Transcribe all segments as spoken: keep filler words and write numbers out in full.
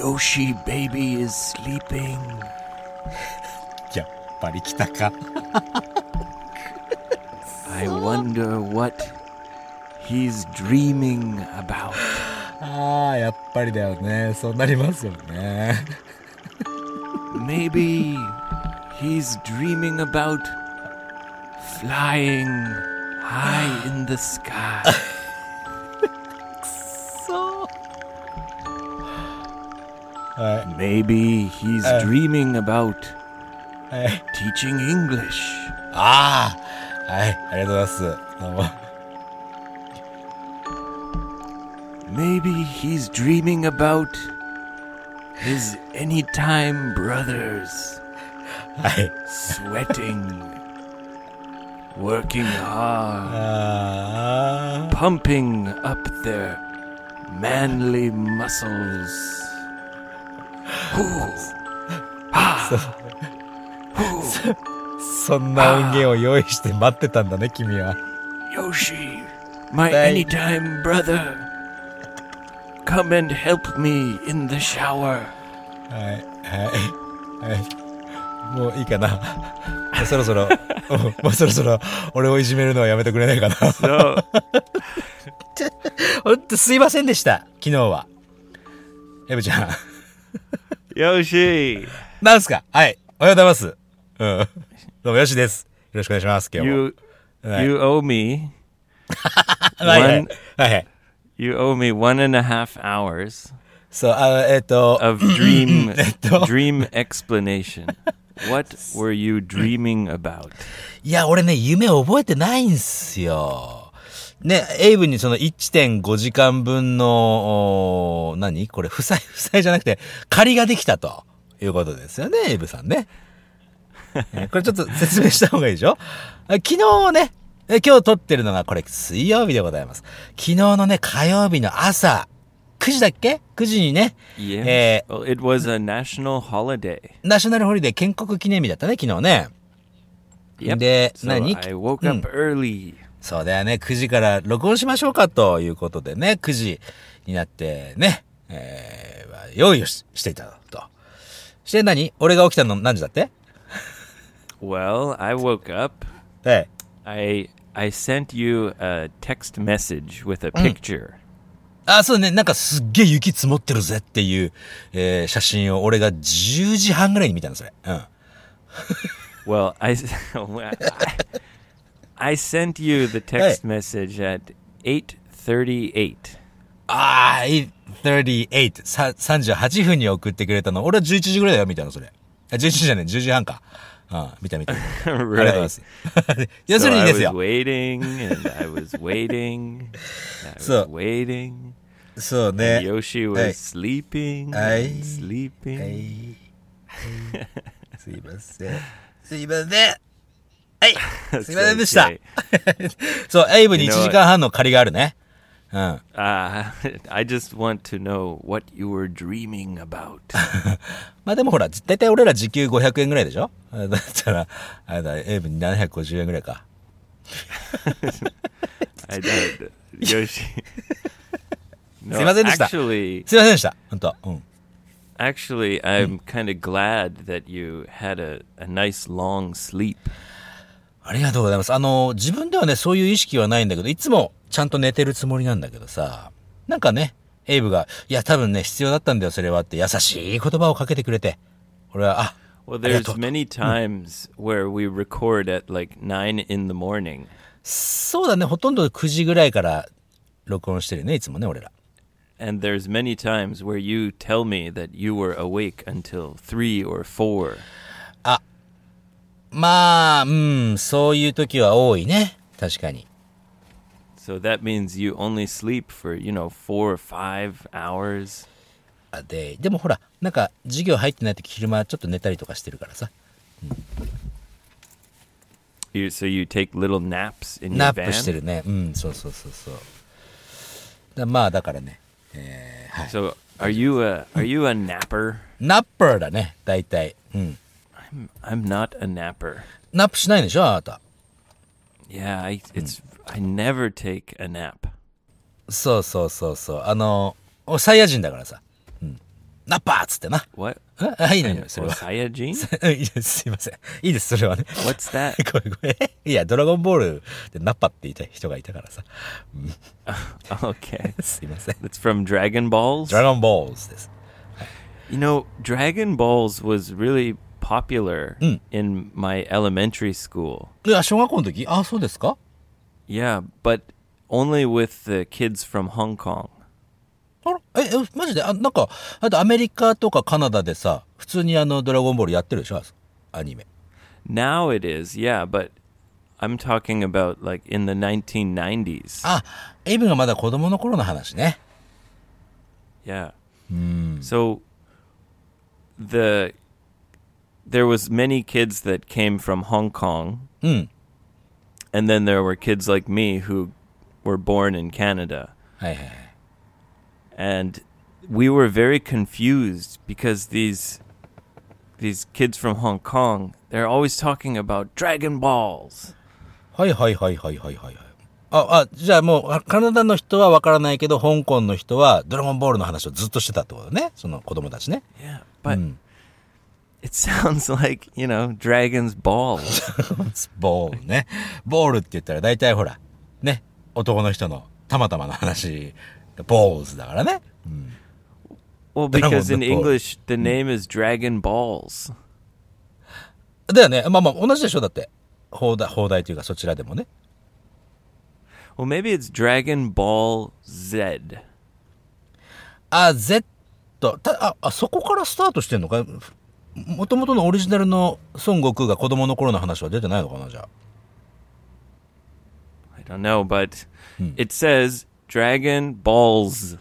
Yoshi baby is sleeping. やっぱり来たか。 I wonder what he's dreaming about. ああ、やっぱりだよね。そうなりますよね。 Maybe he's dreaming about flying high in the sky. そう。はい。 Maybe he's dreaming about はい。 teaching English. ああ、はい、ありがとうございます。どうも。 Maybe he's dreaming about his anytime brothers. はい。 Sweating, working hard, ああ。 pumping up their manly muscles. Hoo. そんな音源を用意して待ってたんだね、君は。 Yoshi, my Thank- anytime brother. Come and help me in the shower. はい、はい、はい。もういいかな。もうそろそろ、もうそろそろ俺をいじめるのはやめてくれないかな。 So, ほんとすいませんでした、昨日は。エブちゃん。 Yoshi, なんすか？はい。おはようございます。うん。どうもよしです。よろしくお願いします。今日も。 you はい you owe me はいはい one はいはい。 you owe me one and a half hours そう、あ、えっと、 of dream えっと dream explanation. What were you dreaming about? いや、俺ね、夢覚えてないんすよ。ね、エイブにその いってんごじかんぶんの、お何これ、負債、負債じゃなくて、借りができたということですよね、エイブさんね。えこれちょっと説明した方がいいでしょ？昨日ね、え今日撮ってるのがこれ水曜日でございます。昨日のね、火曜日の朝、くじだっけ ?く 時にね、 Yes. え Well, it was a national holiday. ナショナルホリデー建国記念日だったね、昨日ね。 Yep. で、 So 何 I woke up early. そうだよね。くじから録音しましょうかということでね、くじになってね、えー、用意を し, していたと。して何俺が起きたの何時だって？ Well, I woke up. はい。 I I sent you a text message with a picture. あ、そうね。なんかすっげえ雪積もってるぜっていう、えー、写真を俺がじゅうじはんぐらいに見たの、それ。うん。 Well, I I sent you the text message at eight thirty-eight. あー、エイトさんじゅうはち、ささんじゅうはちふんに送ってくれたの。俺はじゅういちじぐらいだよ、見たの、それ。あ、じゅういちじじゃねえ、じゅうじはんか。うん、見た見た。ありがとうございます。要す So るに I です was よ。 waiting and I was waiting. I was So- waiting. そう And ね。 Yoshi はい was sleeping はい and sleeping. はい。すいません。すいません。はい。すいませんでした。 Okay. そう、エイブに You い know ちじかんはんの借りがあるね。うん。 Uh, I just want to know what you were dreaming about. まあでもほら、だいたい俺ら時給ごひゃくえんぐらいでしょ？だったら、あれだ、エイブにななひゃくごじゅうえんぐらいか。 I don't. Yoshi. No, すいませんでした。 actually, すいませんでした。ほんと。うん。 actually, I'm kind of glad that you had a, a nice long sleep. ありがとうございます。あの、自分ではね、そういう意識はないんだけど、いつもちゃんと寝てるつもりなんだけどさ、なんかね、エイブが、いや、多分ね、必要だったんだよ、それはって優しい言葉をかけてくれて、俺は、あ、 Well, ありが there's とう。 many times where we record at like nine in the morning. そうだね、ほとんどくじぐらいから録音してるね、いつもね、俺ら。 And there's many times where you tell me that you were awake until three or four. まあ、うん、そういう時は多いね。確かに。 So that means you only sleep for, you know, four or five hours. あで、でもほら、なんか、授業入ってない時昼間ちょっと寝たりとかしてるからさ。 You, so you take little naps in ナ your ップして van? るね。うん、そうそうそうそう。だまあ、だからね。えー、はい。 So are you a are you a napper? ナッパーだね、大体。うん。 I'm not a napper. ナップしないんでしょ、あなた。 Yeah, I it's I never take a nap. そうそうそうそう。あの、サイヤ人だからさ。 ナッパーっつってな。 What? あ、いいのよ、それは。 Saiyajin? いいです、すいません。いいです、それはね。 What's that? ごめんごめん。いや、ドラゴンボールでナッパって言いたい人がいたからさ。 Okay. すいません。 It's from Dragon Balls? ドラゴンボールです。 You know, Dragon Balls was really popular Mm. in my elementary school. いや、小学校の時、あ、そうですか？ Yeah, but only with the kids from Hong Kong. あら、え、え、マジで、あ、なんか、あとアメリカとかカナダでさ、普通にあの、ドラゴンボールやってるでしょ？アニメ。 Now it is, yeah, but I'm talking about like in the nineteen nineties. あ、エイブがまだ子供の頃の話ね。 Yeah. So the there was many kids that came from Hong Kong. うん。 And then there were kids like me who were born in Canada. はいはいはい。 And we were very confused because these these kids from Hong Kong, they're always talking about Dragon Balls. はいはいはいはいはいはい。あ、あ、じゃあもう、あカナダの人はわからないけど、香港の人はドラゴンボールの話をずっとしてたってことね。その子供たちね。 Yeah, but it sounds like, you know, Dragon's Balls. ボールね。ボールって言ったら大体ほら、ね。男の人のたまたまの話、ボールズだからね。 Well, because in English, the name is Dragon Balls. だよね。まあまあ、同じでしょだって。放題、放題というかそちらでもね。 Well, maybe it's Dragon Ball Z. あ、Z。たあ、あ、そこからスタートしてんのか？もともとのオリジナルの孫悟空が子供の頃の話は出てないのかな、じゃあ。 I don't know, but it says Dragon Balls.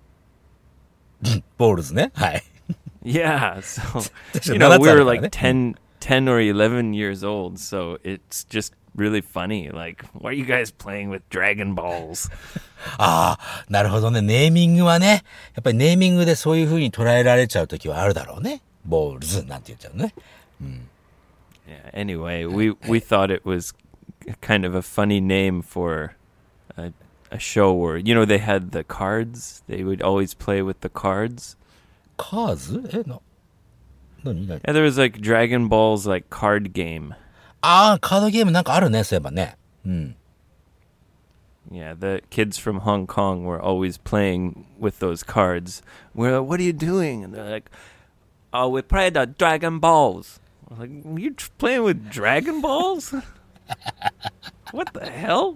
ボールズね。はい。 Yeah, so, 確か you に know, ななつ we あ were るから like ね。 ten, ten or eleven years old, so it's just really funny. Like, why are you guys playing with Dragon Balls? ああ、なるほどね。ネーミングはね。やっぱりネーミングでそういう風に捉えられちゃうときはあるだろうね。ボールズなんて言っちゃうね。 Yeah, anyway, we, we thought it was kind of a funny name for a, a show where, you know, they had the cards. They would always play with the cards. カーズ？え、な、なになに？ Yeah, there was like Dragon Ball's like card game. ああ、カードゲームなんかあるね、そういえばね。うん。 Yeah, the kids from Hong Kong were always playing with those cards. We're like, what are you doing? And they're like, oh, we play the Dragon Balls. I was like, you tr- playing with Dragon Balls? What the hell?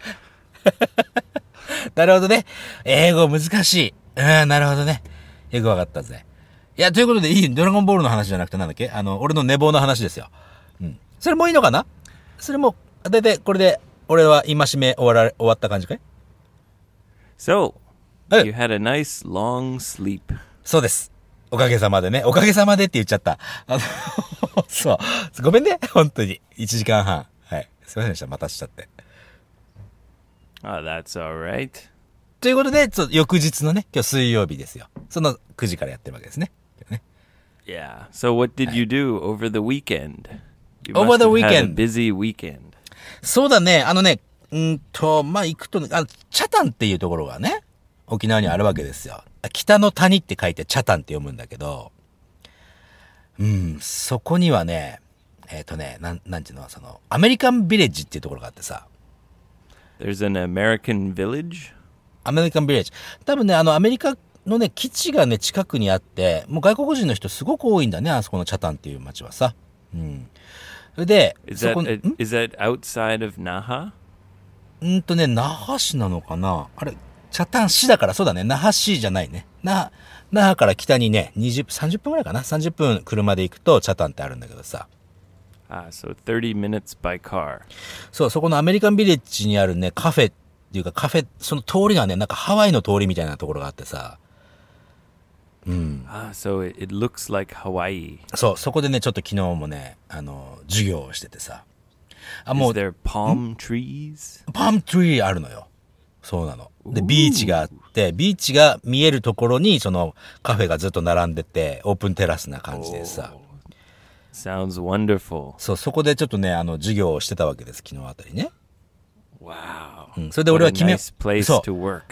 なるほどね。英語難しい。うん、なるほどね。よくわかったぜ。いや、ということでいい、ドラゴンボールの話じゃなくてなんだっけ？あの、俺の寝坊の話ですよ。うん。それもいいのかな？それも、だいたいこれで、俺は戒め終わら、終わった感じかい？ So, Hey. you had a nice long sleep. そうです。おかげさまでね。おかげさまでって言っちゃった。あの、そう。ごめんね。本当に。いちじかんはん。はい。すいませんでした。待たしちゃって。 Oh, that's all right. ということで、ちょ翌日のね、今日水曜日ですよ。そのくじからやってるわけですね。ね Yeah. So, what did you do over the weekend? You Over must the have had a weekend. busy weekend. そうだね。あのね、うんと、まあ、行くとね、あの、チャタンっていうところがね、沖縄にあるわけですよ。北の谷って書いてチャタンって読むんだけど、うん、そこにはね、えっとね、なん、なんていうの、その、アメリカンビレッジっていうところがあってさ、 There's an American village? アメリカンビレッジ。多分ね、あの、アメリカのね、基地がね、近くにあって、もう外国人の人すごく多いんだね、あそこのチャタンっていう街はさ。うん。それで、 Is そ that こに、ん is that outside of Naha? うんとね、那覇市なのかなあれ、チャタン市だからそうだね。那覇市じゃないね。那、那覇から北にね、にじゅう、さんじゅっぷんぐらいかな ?さんじゅっぷん車で行くとチャタンってあるんだけどさ。 Ah, so thirty minutes by car. そう、そこのアメリカンビレッジにあるね、カフェっていうかカフェ、その通りがね、なんかハワイの通りみたいなところがあってさ。 Ah, so it, it looks like Hawaii. そう、そこでね、ちょっと昨日もね、あの、授業をしててさ。あ、も Is う、 there palm trees? パームトゥリーあるのよ。そうなの。で、ビーチがあって、ビーチが見えるところに、そのカフェがずっと並んでて、オープンテラスな感じでさ。 Sounds wonderful. そう、そこでちょっとね、あの、授業をしてたわけです、昨日あたりね。 Wow. うん、それで俺は What 決 a め、 nice place そう to work.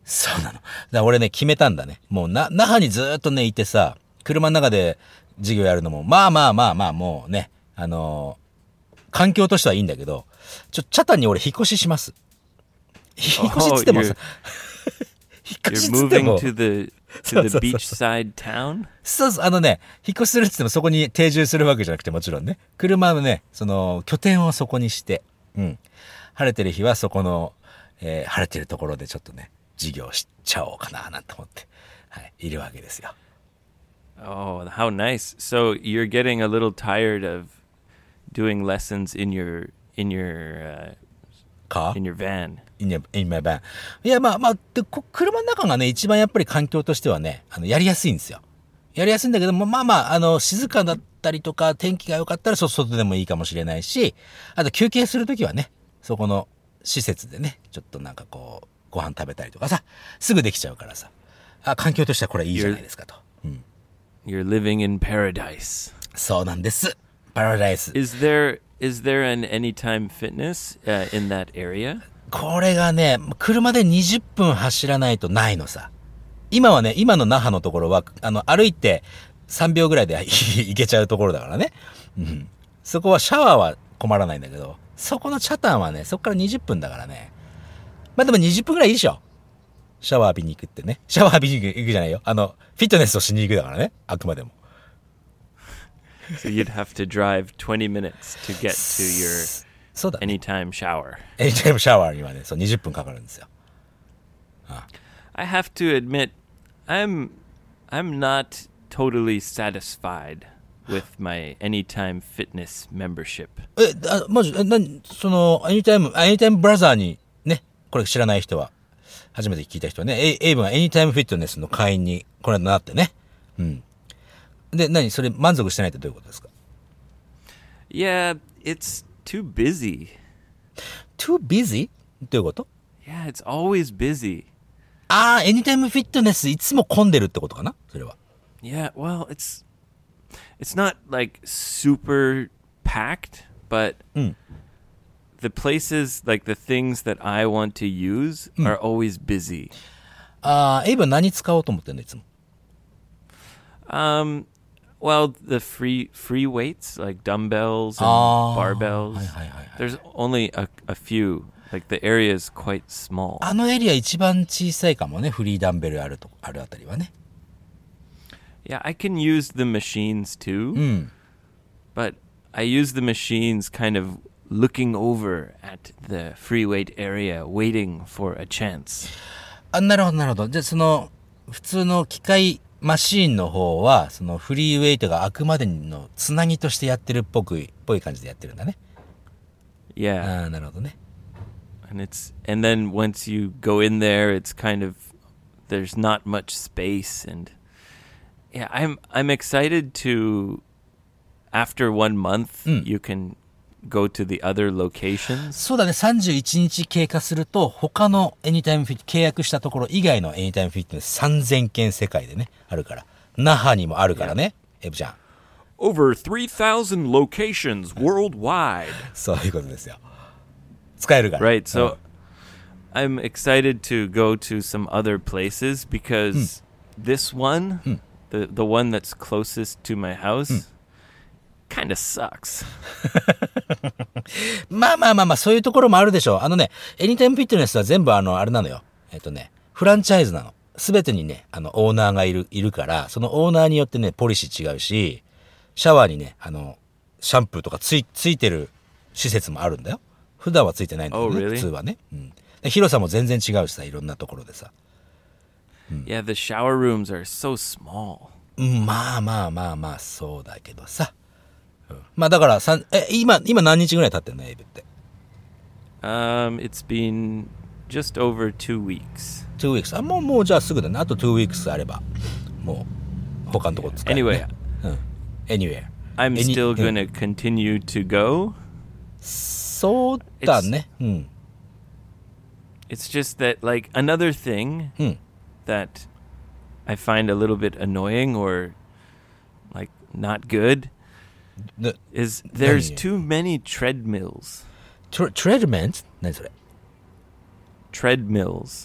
そうなの。だから俺ね、決めたんだね。もうな、那覇にずーっとね、いてさ、車の中で授業やるのも、まあまあまあまあ、もうね、あのー環境としてはいいんだけど、ちょ、チャタンに俺引っ越しします。引っ越しっつってもさ、引っ越し You're っつっても。 moving to the そう to そう the そう beachside town? そうそう、あのね、引っ越しするっつってもそこに定住するわけじゃなくてもちろんね、車のね、その、拠点をそこにして、うん。晴れてる日はそこの、えー晴れてるところでちょっとね、授業しちゃおうかな、なんて思って、はい、いるわけですよ。 Oh, how nice. So you're getting a little tired of doing lessons in your in your uh, か in your van. in your, in my van. いや、まあまあ、でこ車の中がね、一番やっぱり環境としてはね、あの、やりやすいんですよ。やりやすいんだけども、まあまあ、あの、静かだったりとか、天気が良かったら、そ外でもいいかもしれないし、あと休憩するときはね、そこの施設でね、ちょっとなんかこう、ご飯食べたりとかさ、すぐできちゃうからさ、あ、環境としてはこれいいじゃないですかと。うん。 You're living in paradise. そうなんです。パラダイス。 Is there is there an Anytime Fitness uh, in that area? これがね、車でにじゅっぷん走らないとないのさ。今はね、今の那覇のところは、あの、歩いてさんびょうぐらいで行けちゃうところだからね。うん。そこはシャワーは困らないんだけど、そこのチャタンはね、そこからにじゅっぷんだからね。まあでもにじゅっぷんぐらいいいでしょ。シャワー浴びに行くってね。シャワー浴びに行くじゃないよ。あの、フィットネスをしに行くだからね。あくまでも。 So you'd have to drive twenty minutes to get to your そうだね。 anytime shower. エニタイムシャワーにはね、そうにじゅっぷんかかるんですよ。 I have to admit, I'm I'm not totally satisfied with my Anytime Fitness membership. え、あ、まじ、えなに、その、エニタイム、エニタイムブラザーに、ね、これ知らない人は、初めて聞いた人はね、エイエイブがエニタイムフィットネスの会員に、これなってね。うん。で、何それ満足してないってどういうことですか？ Yeah, it's too busy. too busy? どういうこと？ Yeah, it's always busy. ああ、エニタイムフィットネスいつも混んでるってことかなそれは。 Yeah, well, it's it's not like super packed, but Mm. the places, like the things that I want to use, are always busy. ああ、エイブは何使おうと思ってんのいつも。 Um, well, the free free weights like dumbbells and ああ、 barbells. はいはいはいはい。 There's only a, a few. Like the area is quite small. あのエリア一番小さいかもね。フリーダンベルあると、あるあたりはね。 Yeah, I can use the machines too, うん。 but I use the machines kind of looking over at the free weight area, waiting for a chance. あ、なるほどなるほど。じゃあその、普通の機械マシーンの方は、そのフリーウェイトがあくまでのつなぎとしてやってるっぽく、っぽい感じでやってるんだね。 Yeah. ああ、なるほどね。 And it's and then once you go in there, it's kind of there's not much space, and yeah, I'm I'm excited to after one month you can go to the other locations. そうだね、さんじゅういちにち経過すると、他のエニタイムフィット、契約したところ以外のエニタイムフィットネスさんぜんけん世界でね、あるから。那覇にもあるからね、エブちゃん。 Over three thousand locations worldwide. そういうことですよ。使えるから。 Right, so I'm excited to go to some other places because this one, the the one that's closest to my house, kind of sucks. まあまあまあまあ、そういうところもあるでしょう。あのね、エニタイムフィットネスは全部あの、あれなのよ。えっとね、フランチャイズなの。すべてにね、あの、オーナーがいる、いるから、そのオーナーによってね、ポリシー違うし、シャワーにね、あの、シャンプーとかつい、ついてる施設もあるんだよ。普段はついてないんだけどね、 Oh, really? 普通はね。うん。で広さも全然違うしさ、いろんなところでさ。 Yeah, the shower rooms are so small. うんまあまあまあまあ、そうだけどさ。うん、まあだからさん、え、今、今何日ぐらい経ってんのエイブって。 Um, it's been just over two weeks. two weeks。あ、もう、もうじゃあすぐだね。あと two weeks あれば、もう、他のとこ使える、ね。 Anyway, うん。anywhere。 I'm Any- still うん gonna continue to go. そうだね。うん。 It's just that, like, another thing うん。 that I find a little bit annoying or like not good で is there's 何？ too many treadmills. トレ、トレードメンツ何それ Treadmills.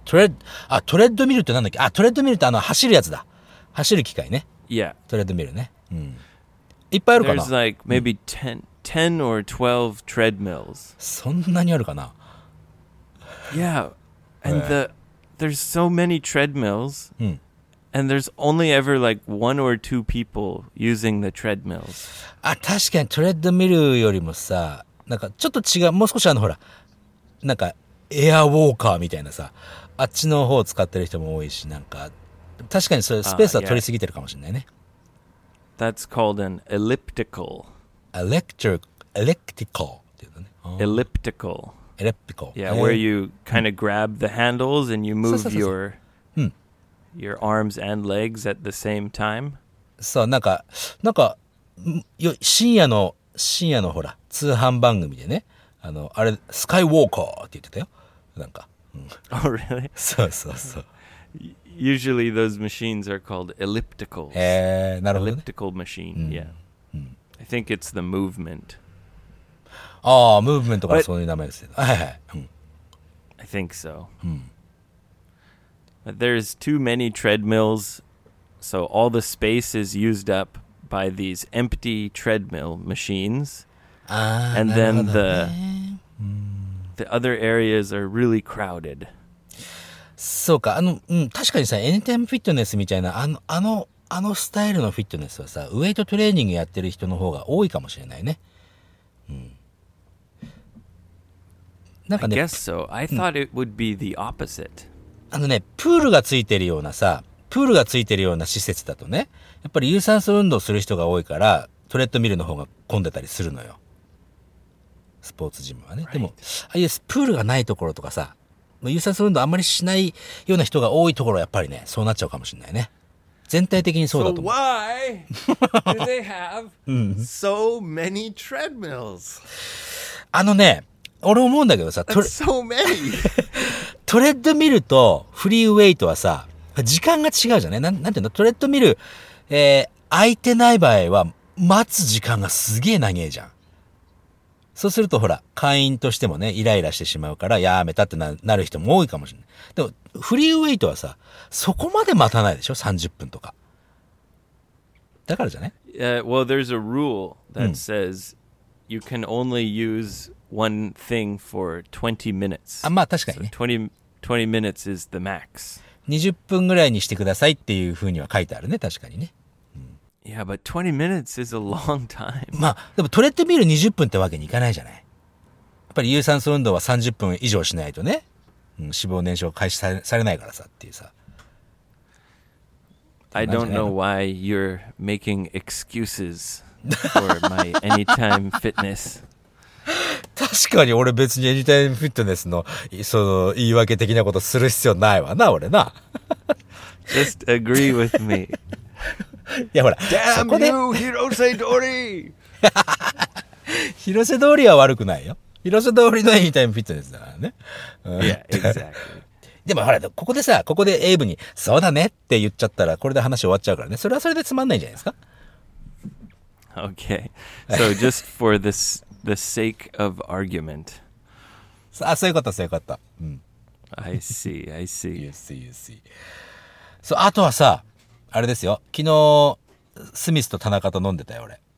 トレッド、あ、トレッドミルってなんだっけ？あ、トレッドミルってあの、走るやつだ。走る機械ね。 Yeah. トレッドミルね。うん。いっぱいあるかな？ There's like maybe ten, ten or twelve treadmills. そんなにあるかな？ Yeah. And the there's so many treadmills. うん。 And there's only ever like one or two people using the treadmills. あ、確かにトレッドミルよりもさ、なんかちょっと違う、もう少しあのほら、なんかエアウォーカーみたいなさ、あっちの方を使ってる人も多いし、なんか、確かにそれスペースは取りすぎてるかもしれないね。 That's called an elliptical. Electric, elliptical っていうのね。 Elliptical. Elliptical. Yeah, where you kind of grab the handles and you move your your arms and legs at the same time. そう、なんか、なんか、よ深夜の、深夜のほら、通販番組でね、あの、あれ、スカイウォーカーって言ってたよ。なんか。うん、 oh, really? そうそうそう。 Usually those machines are called ellipticals. へー、なるほど、ね。 Elliptical machine, うん、 yeah. うん、 I think it's the movement. ああ、ムーブメントからそういう名前ですね。はいはい。うん、 I think so. うん、 But there's too many treadmills, so all the space is used up by these empty treadmill machines. あー、 and なるほ then ど the ね。 the other areas are really crowded. そうか、あの、うん、確かにさ、エニタイムフィットネスみたいな、あの、あの、あのスタイルのフィットネスはさ、ウェイトトレーニングやってる人の方が多いかもしれないね。うん。なんか I ね、 guess so. I thought it would be the opposite. あのね、プールがついてるようなさ、プールがついてるような施設だとね、やっぱり有酸素運動する人が多いから、トレッドミルの方が混んでたりするのよ。スポーツジムはね。でも、ああいうプールがないところとかさ、有酸素運動あんまりしないような人が多いところはやっぱりね、そうなっちゃうかもしれないね。全体的にそうだ So と思う。 why do they have so many treadmills? あのね、俺思うんだけどさ、ト That's レ so many. トレッドミルとフリーウェイトはさ、時間が違うじゃんね。なん、なんていうの、トレッドミル、えー、空いてない場合は、待つ時間がすげえ長えじゃん。そうするとほら、会員としてもね、イライラしてしまうから、やめたってな、なる人も多いかもしれない。でも、フリーウェイトはさ、そこまで待たないでしょ ?さんじゅっぷんとか。だからじゃね Uh, well, there's a rule that says you can only use one thing for twenty minutes. あ、まあ確かに So ね。 twenty, twenty minutes is the max. にじゅっぷんぐらいにしてくださいっていう風には書いてあるね、確かにね。 Yeah, but twenty minutes is a long time. まあ、でもトレッドミルにじゅっぷんってわけにいかないじゃない。やっぱり有酸素運動はさんじゅっぷん以上しないとね、うん、脂肪燃焼開始され、されないからさっていうさ。 I don't know why you're making excuses for my anytime fitness. 確かに俺別にエニタイムフィットネスの、その、言い訳的なことする必要ないわな、俺な。 Just agree with me. いやほら、そ Damn こで、 you, Hirose Dori! 広瀬通りは悪くないよ。広瀬通りのエニタイムフィットネスだからね。うん Yeah, exactly. でもほら、ここでさ、ここでエイブに、そうだねって言っちゃったら、これで話終わっちゃうからね。それはそれでつまんないんじゃないですか。 Okay. So just for this, the sake of argument. あ、そういうこと、そういうこと。うん。 I see, I see. You see, you see. そう、あとはさ、あれですよ。昨日、スミスと田中と飲んでたよ、俺。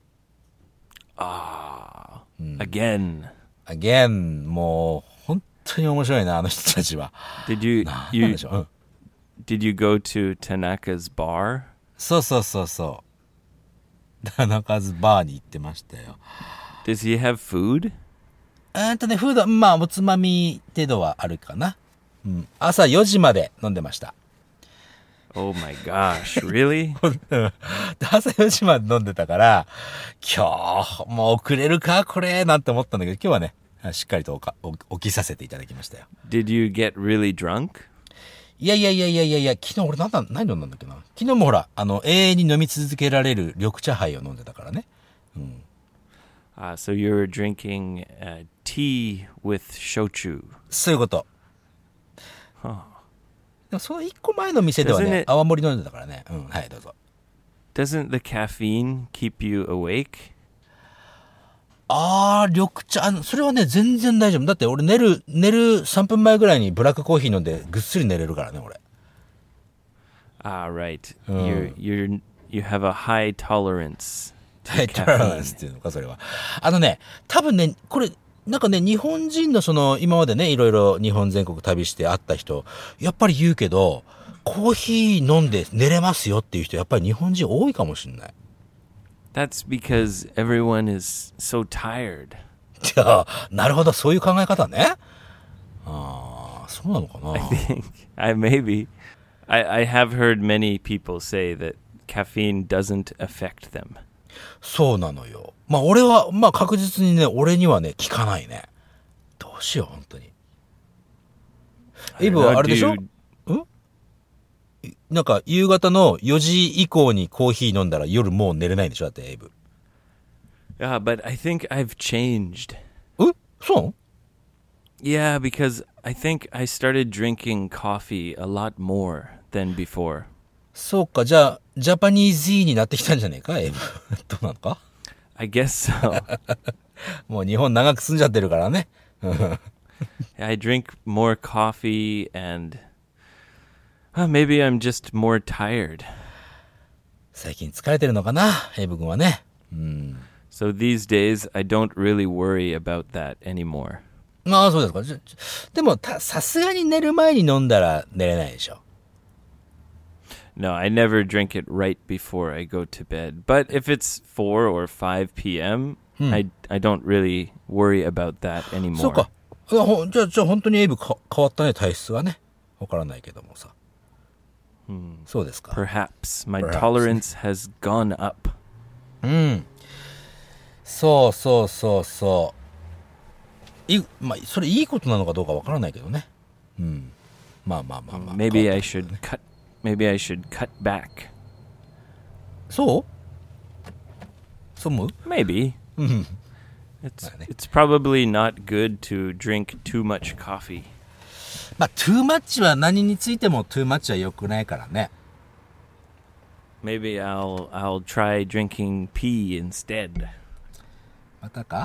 Ah, again. Again、もう、本当に面白いな、あの人たちは。 Did you, なん you, でしょう。うん。 did you go to Tanaka's bar? そうそうそうそう。田中ズバーに行ってましたよ。 Does he have food? うーんとね、フード、まあ、おつまみ程度はあるかな。うん。朝よじまで飲んでました。 Oh my gosh, really? 朝よじまで飲んでたから、今日、もう遅れるかこれなんて思ったんだけど、今日はね、しっかりとおかお起きさせていただきましたよ。 Did you get really drunk? いやいやいやいやいやいや、昨日俺なんだ、何飲んだんだっけな。昨日もほら、あの、永遠に飲み続けられる緑茶杯を飲んでたからね。うん。 Uh, so you were drinking uh, tea with shochu. そういうこと。 Huh. でもその一個前の店では Doesn't ね、 it- 泡盛飲んでたからね。うん、はい、どうぞ。 Doesn't the caffeine keep you awake? あー、緑茶、あの、それはね、全然大丈夫。だって俺寝る、寝るさんぷんまえぐらいにブラックコーヒー飲んでぐっすり寝れるからね、俺。 Ah, right. Oh. You're you're you have a high tolerance ハ to イトラン caffeine. スっていうのか、それは。あのね、多分ね、これ、なんかね、日本人のその、今までね、いろいろ日本全国旅して会った人、やっぱり言うけど、コーヒー飲んで寝れますよっていう人、やっぱり日本人多いかもしれない。 That's because everyone is so tired. じゃあ、なるほど、そういう考え方ね。ああ、そうなのかな。 I think I maybe I I have heard many people say that caffeine doesn't affect them. そうなのよ。まあ俺は、まあ確実にね、俺にはね、効かないね。どうしよう、本当に。エイブはあれでしょ？ Dude, なんか夕方のよじ以降にコーヒー飲んだら夜もう寝れないんでしょ？だってエイブ。 yeah, but I think I've changed. え？そう？ Yeah, because I think I started drinking coffee a lot more than before. そうか、じゃあ、ジャパニーズになってきたんじゃねえか、エイブ。どうなのか？ I guess so. もう日本長く住んじゃってるからね。 I drink more coffee and uh, maybe I'm just more tired. 最近疲れてるのかな、エイブ君はね。うん。 So these days I don't really worry about that anymore. ああ、そうですか。じゃでも、た、さすがに寝る前に飲んだら寝れないでしょ。 No, I never drink it right before I go to bed. But if it's four or five p.m., I, I don't really worry about that そう anymore. か。いやほんじゃあ、じゃあ本当にエイブか変わったね、体質はね。わからないけどもさ。そうですか。 Perhaps my Perhaps. tolerance has gone up. うん。そうそうそうそう。い、まあ、それいいことなのかどうかわからないけどね。うん。まあまあまあまあ。 Maybe 変わ I ったけど should ね cut maybe I should cut back. そうそう思う？ Maybe. うん。 It's Vale. it's probably not good to drink too much coffee. まあ、too much は何についても too much は良くないからね。 Maybe I'll I'll try drinking pee instead. またか？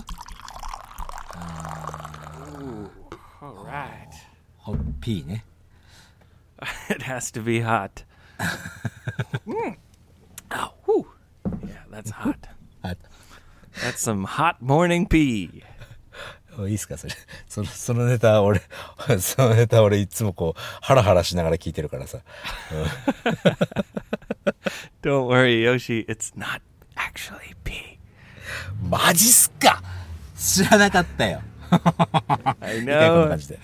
All right. ホッピーね。 It has to be hot. Mm. Oh, whew. Yeah, that's hot. あ、 That's some hot morning pee. いいっすかそれ。その、そのネタ俺、そのネタ俺いつもこう、ハラハラしながら聞いてるからさ。 Don't worry, Yoshi. It's not actually pee. マジっすか？知らなかったよ。 I 一回こんな know. 感じで。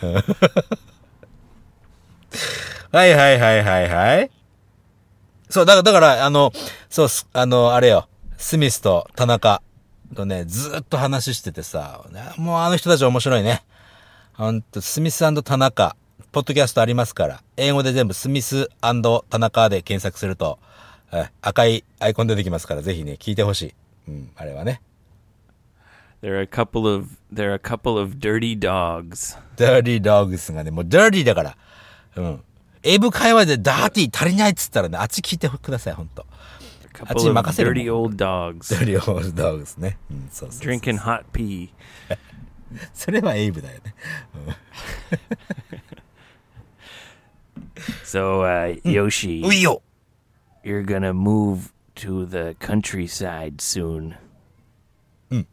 はいはいはいはいはい。そう、だから、だから、あの、そう、すあの、あれよ。スミスと田中とね、ずーっと話しててさ、もうあの人たち面白いね。ほんと、スミス&田中、ポッドキャストありますから、英語で全部スミス&田中で検索すると、え赤いアイコン出てきますから、ぜひね、聞いてほしい。うん、あれはね。 There are a couple of there are a couple of dirty dogs. dirty dogs がね、もう dirty だから。うん。英語会話でダーティー足りないっつったらね、あっち聞いてください、ほんと。 A couple of dirty old dogs dirty old dogs ね。うん、そうそうそう。 drinking hot pee. それはエイブだよね。 So, uh, Yoshi, ういよ you're gonna move to the countryside soon. Mm.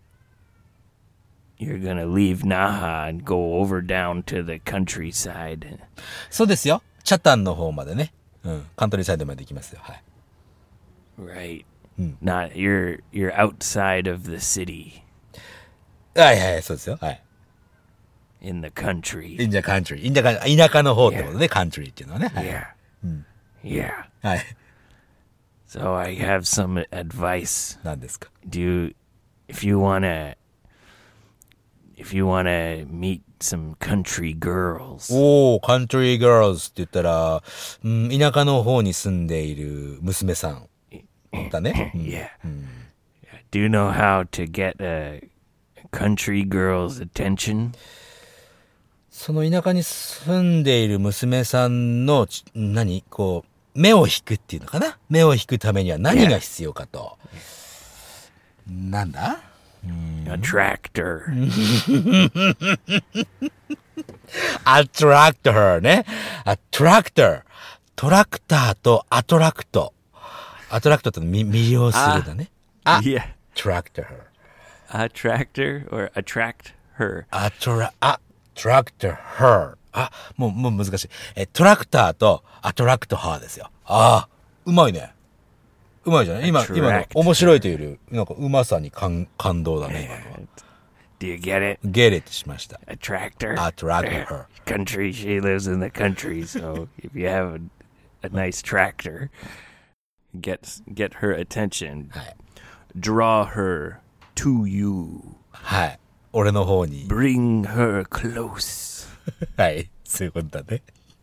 You're gonna leave Naha and go over down to the countryside. そうですよ。チャタンの方までね。うん。カントリーサイドまで行きますよ。はい。 Right. Mm. Not you're you're outside of the city はいはい、そうですよ。はい。 in the country. インジャカントリー。インジャカン、田舎の方ってことで、カントリーっていうのはね。はい。 Yeah. Yeah. はい。 So I have some advice. 何ですか？ Do you, if you wanna if you wanna meet some country girls, おー、カントリーガールズって言ったら、うん、田舎の方に住んでいる娘さんだね。うん yeah. Do you know how to get a country girl's attention? その田舎に住んでいる娘さんのち、何こう、目を引くっていうのかな？目を引くためには何が必要かと。なんだ？ A tractor. A tractor ね。A tractor。トラクターとアトラクト。アトラクトって魅了するだね。あ、 yeah. tractor. A tractor or attract her. アトラ、あ、tractor her. あ、もう、もう難しい。え、トラクターとアトラクトハーですよ。ああ、うまいね。うまいじゃない今、今の面白いというより、なんかうまさに感、感動だね、今のは。 Do you get it? get it しました。 A tractor. Attract her. Country. She lives in the country, so if you have a, a nice tractor, get get her attention. はい。 Draw her to you. はい。俺の方に。 Bring her close. はい。そういうことだね。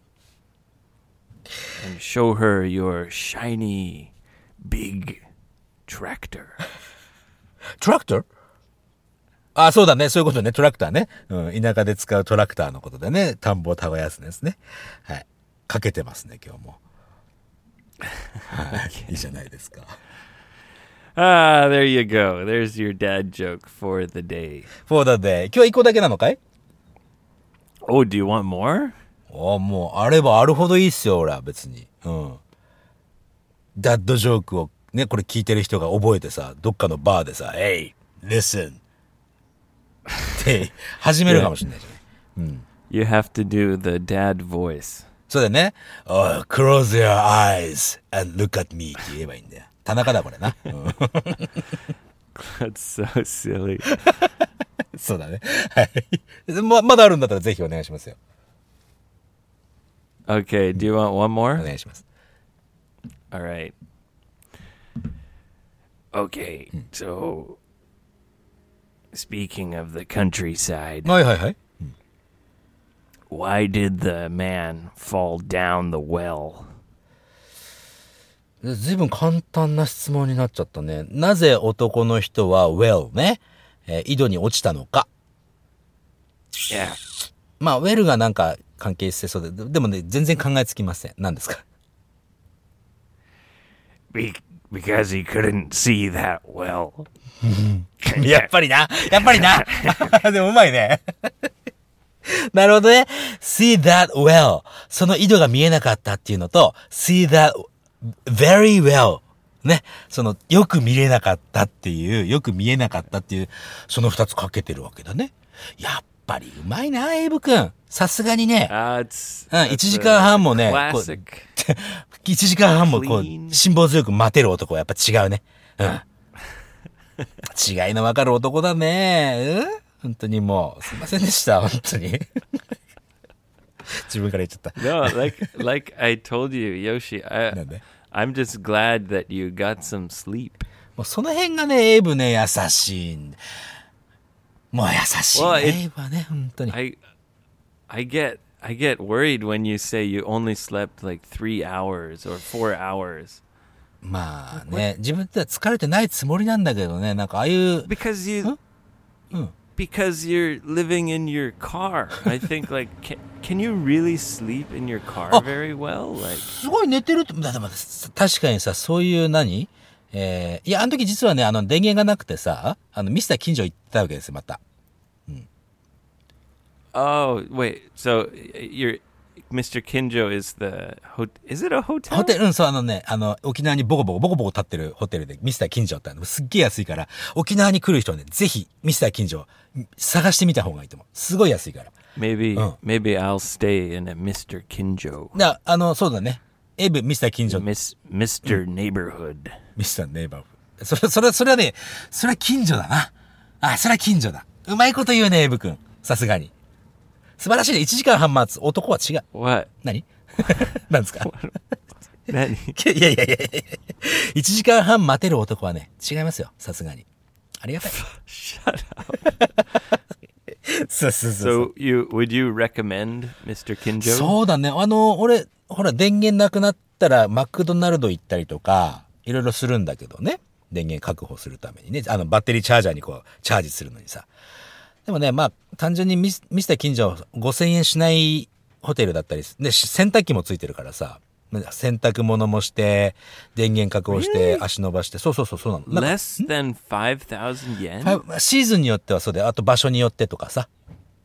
And show her your shiny, big tractor. tractor? あ、そうだね。そういうことね。トラクターね。うん。田舎で使うトラクターのことでね。田んぼを耕すんですね。はい。かけてますね、今日も。はい。いいじゃないですか。 Ah, there you go. There's your dad joke for the day. for the day. 今日は一個だけなのかい？ Oh, do you want more? ああ、もう、あればあるほどいいっすよ、俺は別に。うん。ダッドジョークをね、これ聞いてる人が覚えてさ、どっかのバーでさ、Hey, listen. って始めるかもしれないじゃない。うん。 You have to do the dad voice. そうだよね。Oh, close your eyes and look at me って言えばいいんだよ。田中だ、これな。うん、 That's so silly. そうだね。はい。ま、まだあるんだったらぜひお願いしますよ。 Okay, do you want one お more? 願いします。 All right. Okay, so speaking of the countryside, はいはいはい。 why did the man fall down the well? ずいぶん簡単な質問になっちゃったね。なぜ男の人は well ね、えー、井戸に落ちたのか。 Yeah. まあ、well がなんか関係してそうで、でもね、全然考えつきません。何ですか？ Be- because he couldn't see that well. やっぱりな。やっぱりな。でもうまいね。なるほどね。see that well. その井戸が見えなかったっていうのと、see that very well. ね。その、よく見れなかったっていう、よく見えなかったっていう、その二つかけてるわけだね。やっぱりうまいな、エイブ君。さすがにね。 Uh, it's, うん、いちじかんはんもね、こう classic. いちじかんはんもこう、 Clean. 辛抱強く待てる男はやっぱ違うね。うん。違いのわかる男だね。うん本当にもう、すいませんでした、本当に。自分から言っちゃった。 No, like like I told you, Yoshi, な I, んで I'm just glad that you got some sleep. もうその辺がね、エイブね、優しいんだ。もう優しいね、 Well, it- エイブはね、本当に。 I I get I get worried when you say you only slept like three hours or four hours. まあね、自分では疲れてないつもりなんだけどね、なんかああいう、 Because you Huh? because you're living in your car. I think like can, can you really sleep in your car Oh. very well? Like すごい寝てるって、だでも確かにさ、そういう何えー、いや、あの時実はね、あの電源がなくてさ、あのミスター近所行ったわけですよ、また。 oh wait, so you're Mister Kinjo is the ho- is it a hotel? ホテル、うん、そう、あのね、あの、沖縄にボコボコ、ボコボコ立ってるホテルで、ミスター近所ってあの、すっげえ安いから、沖縄に来る人はね、ぜひ、ミスター近所、探してみた方がいいと思う。すごい安いから。 Maybe Oh. maybe I'll stay in a Mister Kinjo. だあの、そうだね。エイブ、ミスター近所、 Miss Mister Neighborhood. ミスターネイバーフー。それ、それ、それはね、それは近所だな。あ、それは近所だ。うまいこと言うね、エイブ君。さすがに。素晴らしいね。いちじかんはん待つ。男は違う。 What? 何何ですか何いやいやいやいやいちじかんはん待てる男はね、違いますよ。さすがに。ありがたい。 Shut up. そうそうそうそう So you would you recommend Mister Kinjo? そうだね。あの、俺、ほら、電源なくなったら、マクドナルド行ったりとか、いろいろするんだけどね。電源確保するためにね。あの、バッテリーチャージャーにこう、チャージするのにさ。でもね、まあ、単純にミス、ミスター近所ごせんえんしないホテルだったり、で、洗濯機もついてるからさ、 洗濯物もして、電源確保して、 Really? 足伸ばして、そうそうそう、そうなの。なんか Less than five thousand yen? ファイシーズンによってはそうで、あと場所によってとかさ。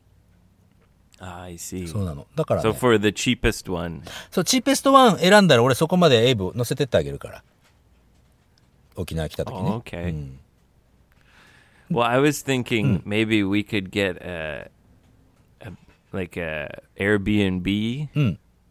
Ah, I see. そうなの。だから、ね、 So for the cheapest one. そう、チーペストワン選んだら俺そこまでエイブ乗せてってあげるから。沖縄来た時ね。 Oh, okay. うん、 Well, I was thinking maybe we could get a, a like a Airbnb うん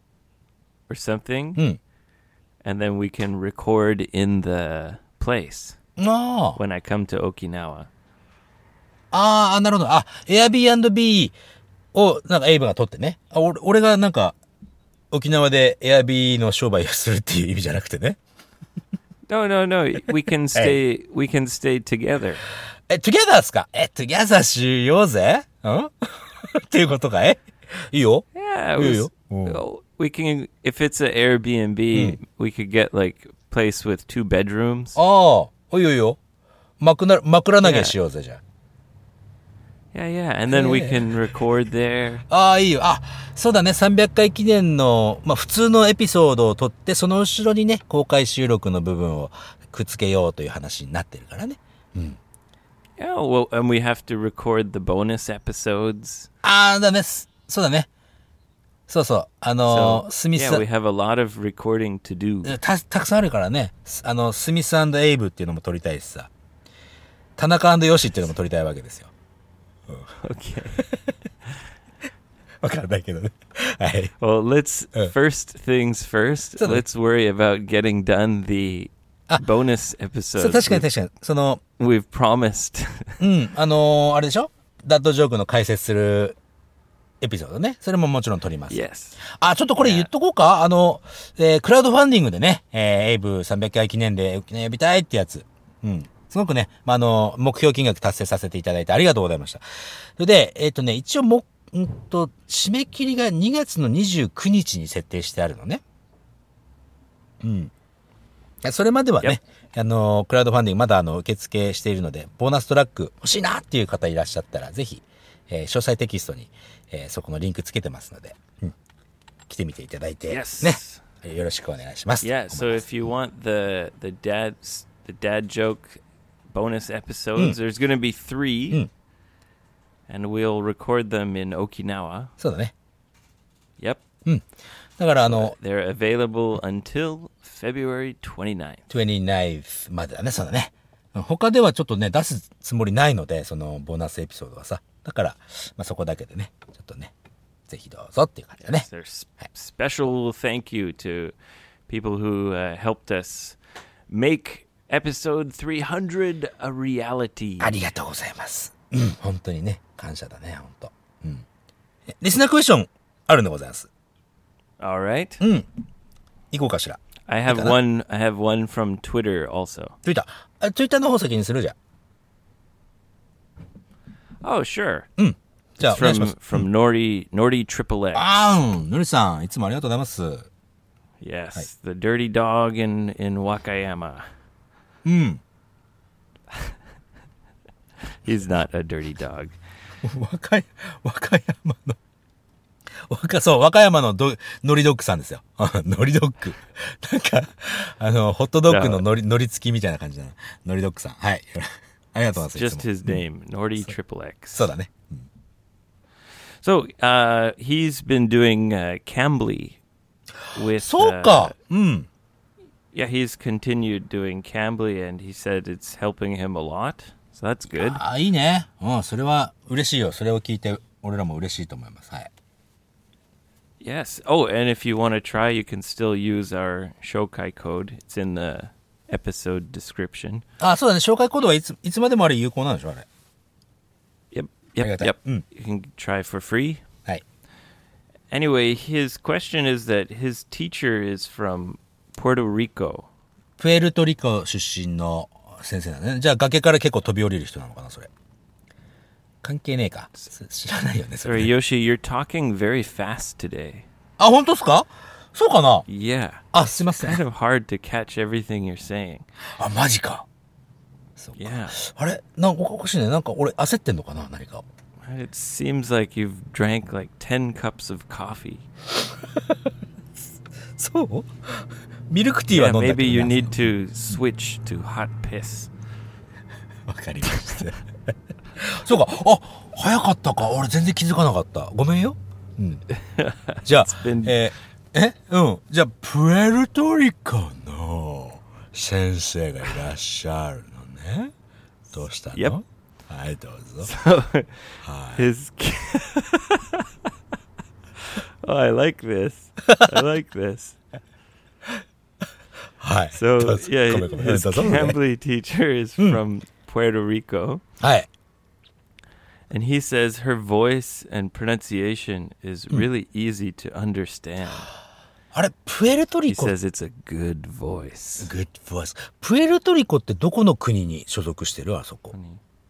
or something, うん。 and then we can record in the place ああ。 when I come to Okinawa. ああ、なるほど。あ、Airbnb をなんかエイブが取ってね。あ、俺、俺がなんか沖縄で Airb の商売をするっていう意味じゃなくてね。 No, no, no. We can stay. We can stay together. え、together っすか？え、together しようぜ？んっていうことかい？いいよ。 Yeah, it いい was, よ。うん。 oh, we can. If it's an Airbnb, we could get like a place with two bedrooms. ああ、いいよいいよ。枕、枕投げしようぜ、じゃ Yeah, yeah, and then we can record there. あ。ああ、いいよ。あ、そうだね。さんびゃっかい記念の、まあ普通のエピソードを撮って、その後ろにね、公開収録の部分をくっつけようという話になってるからね。 Yeah, well, and we have to record the bonus episodes. ああ、だね。すそうだね。そうそう。あの So, スミス yeah, we have a lot of recording to do. た、たくさんあるからね。すあの、スミス&エイブっていうのも撮りたいしさ。田中&ヨシっていうのも撮りたいわけですよ。 Okay. わかんないけどね。はい。 Well, let's Uh. first things first. So the- Let's worry about getting done the bonus そう、 episodes 確かに we've, 確かに。その、 we've promised. うん、あのー、あれでしょ？ダッドジョークの解説するエピソードね。それももちろん撮ります。 Yes. あ、ちょっとこれ言っとこうか。あの、えー、クラウドファンディングでね、えー、エイブさんびゃっかい記念で沖縄呼びたいってやつ。うん。すごくね、まあ、あの、目標金額達成させていただいてありがとうございました。それで、えっとね、一応も、んと、締め切りがにがつのにじゅうくにちに設定してあるのね。うん。それまではね、あの、クラウドファンディングまだあの、受付しているので、ボーナストラック欲しいなっていう方いらっしゃったら、ぜひ、えー、詳細テキストに、えー、そこのリンクつけてますので、うん、来てみていただいて、 Yes. ね、よろしくお願いします。 Yeah, so if you want the the dad the dad joke bonus episodes, there's going to be three, and we'll record them in Okinawa. そうだね。 Yep. だからあの、 They're available until February twenty-ninth. にじゅうくにちまでだね、そうだね。他ではちょっとね、出すつもりないので、そのボーナスエピソードはさ。だから、まあ、そこだけでね、ちょっとね、ぜひどうぞっていう感じだね。 There's special thank you to people who uh, helped us make episode three hundred a reality. ありがとうございます。うん、本当にね、感謝だね、本当。うん。リスナークエスチョンあるんでございます。 All right. うん。行こうかしら。 I have one I have one from Twitter also. ツイッター。あ、ツイッターの方先にするじゃん。 Oh, sure. じゃあ、 It's お願いしま from す。 from Nordy Nordy Triple X. あーん、のりさん、いつもありがとうございます。 Yes, the dirty dog in in Wakayama. うん。 He's not a dirty dog. 和歌山、和歌山の、和歌、そう、和歌山のど、のりドッグさんですよ。のりドッグ。なんか、あの、ホットドッグののり、のり付きみたいな感じだな。のりドッグさん。はい。ありがとうございます。 Just his name, Nordy Triple X. そうだね。 So, uh, he's been doing uh, Cambly with. そうか。 uh, うん。 yeah, he's continued doing Cambly, and he said it's helping him a lot. So that's good. あ、いいね。うん、それは嬉しいよ。それを聞いて、俺らも嬉しいと思います。はい。 Yes. Oh, and if you want to try, you can still use our Shokai code. It's in the episode description. あ、そうだね。紹介コードはいつ、いつまでもあれ有効なんでしょあれ。 Yep. Yep. Arigato. Yep. Mm. You can try for free. はい。 Anyway, his question is that his teacher is from Puerto Rico. プエルトリコ出身の先生だね。じゃあ崖から結構飛び降りる人なのかな、それ。関係ねえか。知らないよね、それ Sorry, ね。 Yoshi, you're talking very fast today. あ、本当っすか？そうかな？ Yeah. あ、すいませ Kind ん。 of hard to catch everything you're saying. あ、マジか。そうか。 Yeah. あれなんかおかしいね。なんか俺焦ってんのかな何か。 It seems like you've drank like ten cups of coffee. そうミルクティーは Yeah, 飲んだけど maybe you な need to switch to hot piss. わかりましたそうかあ早かったか俺全然気づかなかったごめんよ、うん、じゃあ、 been... えー、えうんじゃあプエルトリコの先生がいらっしゃるのねどうしたの、 Yep. はいどうぞ So, はい his... oh, I like this. I like this. はい So, どうぞ yeah, ごめんごめん his どうぞ Cambly teacher is from Puerto Rico. はい And he says her voice and pronunciation is really easy to understand. あれプエルト He リコ says it's a good voice. Good voice プエルトリコってどこの国に所属してるあそこ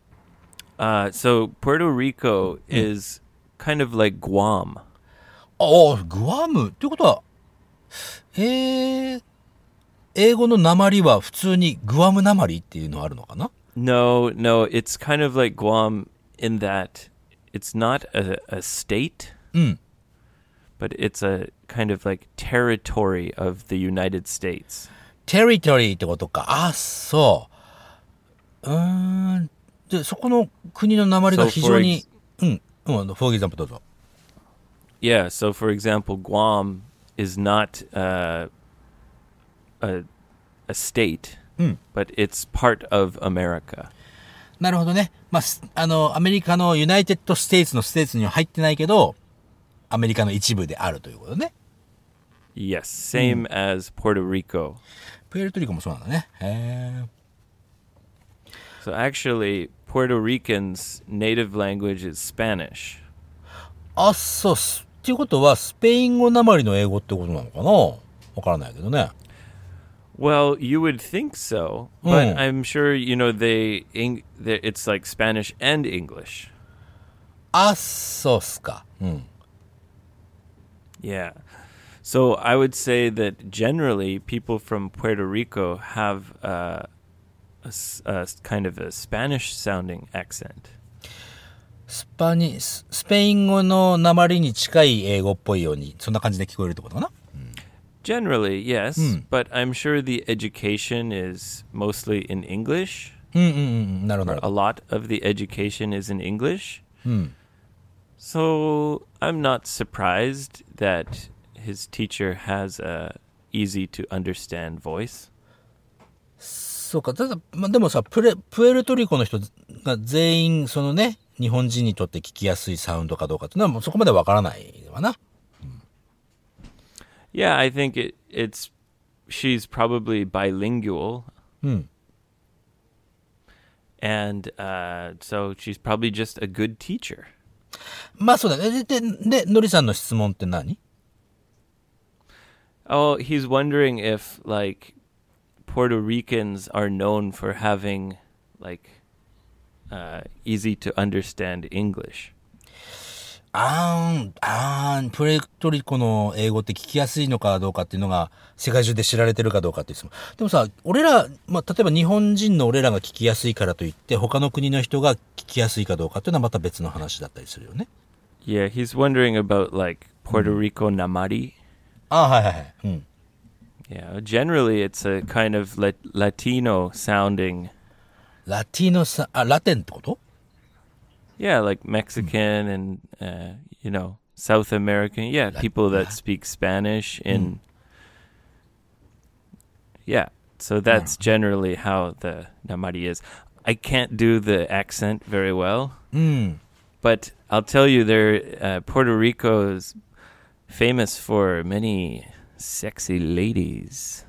Uh, so Puerto Rico is kind of like Guam. ああグアムってことはえー、英語の訛りは普通にグアム訛りっていうのあるのかな No, no, it's kind of like Guam in that it's not a, a state, うん but it's a kind of like territory of the United States. テリトリーってことかあそううーんでそこの国の訛りが So 非 for 常に ex- うんうんフォーギザンプどうぞ Yeah, so for example, Guam is not uh, a, a state, うん but it's part of America. なるほどねまあすあのアメリカのユナイテッドステイツのステーツには入ってないけどアメリカの一部であるということね Yes, same as Puerto Rico. プエルトリコもそうなんだねへえ So actually, Puerto Ricans' native language is Spanish. あそうすっていうことはスペイン語訛りの英語ってことなのかなわからないけどね Well, you would think so, but Mm. I'm sure you know they, Eng- they. It's like Spanish and English. あそうっすかうん Yeah. So I would say that generally people from Puerto Rico have uh, a, s- a s- kind of a Spanish-sounding accent. スパニススペイン語の訛りに近い英語っぽいようにそんな感じで聞こえるってことかな Generally, yes, Mm. but I'm sure the education is mostly in English. うんうんうんなるほど Or a lot of the education is in English. うん So I'm not surprised that his teacher has a easy to understand voice. そうかただ、まあ、でもさプレプエルトリコの人が全員そのね日本人にとって聞きやすいサウンドかどうかっていうのはもうそこまでわからないわな Yeah, I think it, it's she's probably bilingual, うん and uh, so she's probably just a good teacher. まあそうだねでででのりさんの質問って何 Oh, he's wondering if like Puerto Ricans are known for having like uh, easy to understand English. あーんあーんプエルトリコの英語って聞きやすいのかどうかっていうのが世界中で知られてるかどうかっていう質問でもさ俺ら、まあ、例えば日本人の俺らが聞きやすいからといって他の国の人が聞きやすいかどうかっていうのはまた別の話だったりするよね Yeah, he's wondering about like Puerto Rico Namari. あはいはいはい、うん、 Yeah, generally it's a kind of lat- Latino sounding. ラティノさあラテンってこと Yeah, like Mexican and uh, you know South American. Yeah, people that speak Spanish in. Yeah, so that's generally how the Namari is. I can't do the accent very well, うん but I'll tell you, there uh, Puerto Rico is famous for many sexy ladies.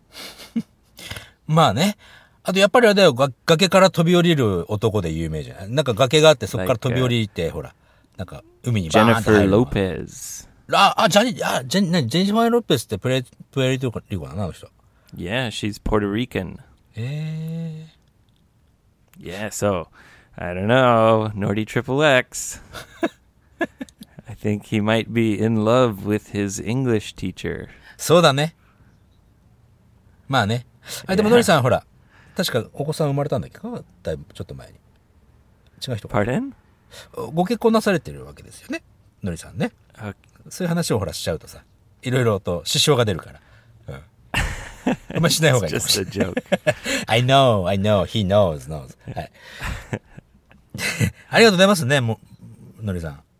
まあねあとやっぱりあれだよが崖から飛び降りる男で有名じゃないなんか崖があってそこから飛び降りて、ほらなんか海にバーンって入 Jennifer るの Lopez. ああジャニあジェニ何ジェニファー・ロペスってプレプエルトリコなのあの人 Yeah, she's Puerto Rican. え Yeah, so I don't know, Nordy Triple X. I think he might be in love with his English teacher. ー、そうだねまあねあでも Yeah. ノリさんほら確かお子さん生まれたんだっけかだいぶちょっと前に違う人か Pardon? ご結婚なされてるわけですよねのりさんね Uh, そういう話をほらしちゃうとさいろいろと支障が出るから。うん。あんまりしない方がいい。 It's just a joke. I know, I know, he knows, knows. はい。ありがとうございますね、も、のりさん。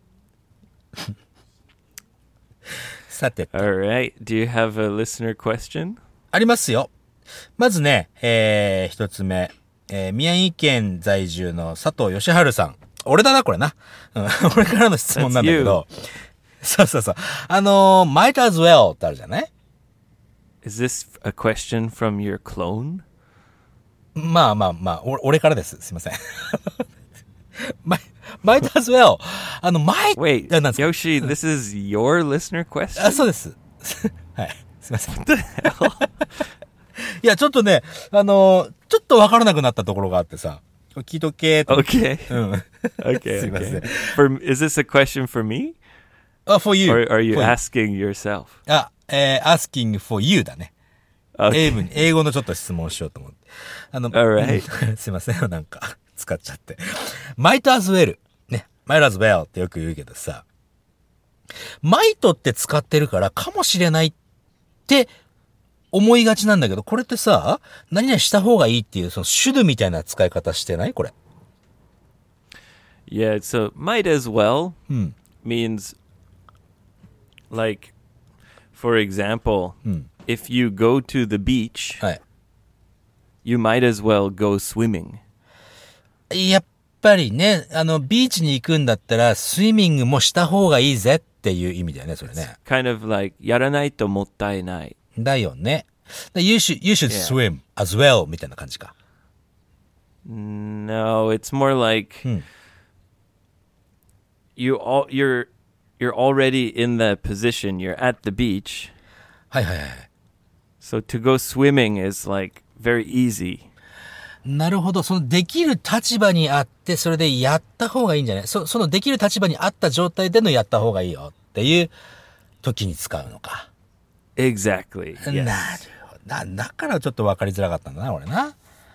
さて。 All right. Do you have a listener question? ありますよ。まずね、えー、一つ目。えー、宮城県在住の佐藤義治さん。俺だな、これな。うん、俺からの質問なんだけど。そうそうそう。あのー、might as well ってあるじゃない？ Is this a question from your clone? まあまあまあ、お俺からです。すいません。might as well. あの、might... Wait, なんですか Yoshi, this is your listener question? あ、そうです。はい。すいません。 What the hell? いや、ちょっとね、あのー、ちょっとわからなくなったところがあってさ、聞いとけーと。 Okay. うん。 Okay, すいません。 okay. For, is this a question for me? あ、for you. Or are you for you. asking yourself? あ、えー、asking for you だね。 Okay. 英文に、英語のちょっと質問しようと思って。あの、 Alright. すいません、なんか、使っちゃって。might as well. ね。might as well ってよく言うけどさ、might って使ってるからかもしれないって思いがちなんだけど、これってさ、何々した方がいいっていう、その should みたいな使い方してないこれ。 Yeah, so might as well うん。 means, like, for example, うん。 if you go to the beach, はい。 you might as well go swimming. やっぱりね、あの、ビーチに行くんだったら、スイミングもした方がいいぜっていう意味だよね、それね。 Kind of like, やらないともったいない。 だよね。You should, you should Yeah. swim as well みたいな感じか。 No, it's more like, うん。 you all, you're, you're already in the position, you're at the beach. はいはいはい。 So to go swimming is like very easy. なるほど。そのできる立場にあって、それでやった方がいいんじゃない？そ、そのできる立場にあった状態でのやった方がいいよっていう時に使うのか。 Exactly. なる Yes. ほど。な、だからちょっと分かりづらかったんだな、俺な。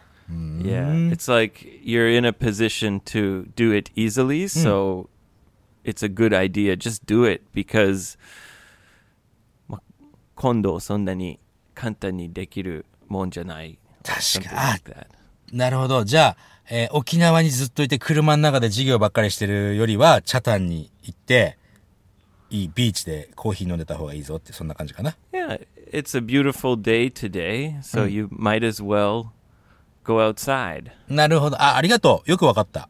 Yeah. It's like you're in a position to do it easily, so it's a good idea. Just do it because ま、今度そんなに簡単にできるもんじゃない。 確 Something か like that. なるほど。じゃあ、えー沖縄にずっといて車の中で授業ばっかりしてるよりは、チャタンに行って、いいビーチでコーヒー飲んでた方がいいぞって、そんな感じかな。 Yeah, it's a beautiful day today, so you might as well go outside. なるほど。あ、ありがとう。よくわかった。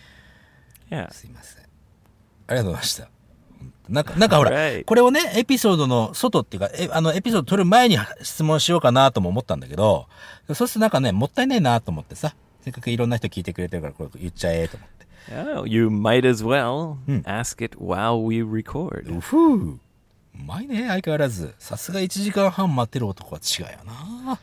Yeah. すいません。ありがとうございました。なんか、なんかほら、 Alright. これをね、エピソードの外っていうか、え、あの、エピソード撮る前に質問しようかなとも思ったんだけど、そうするとなんかね、もったいないなと思ってさ、せっかくいろんな人聞いてくれてるから、これ言っちゃえと思って。 Yeah, you might as well ask it while we record. うふう。うまいね、相変わらず。さすがいちじかんはん待ってる男は違うよな。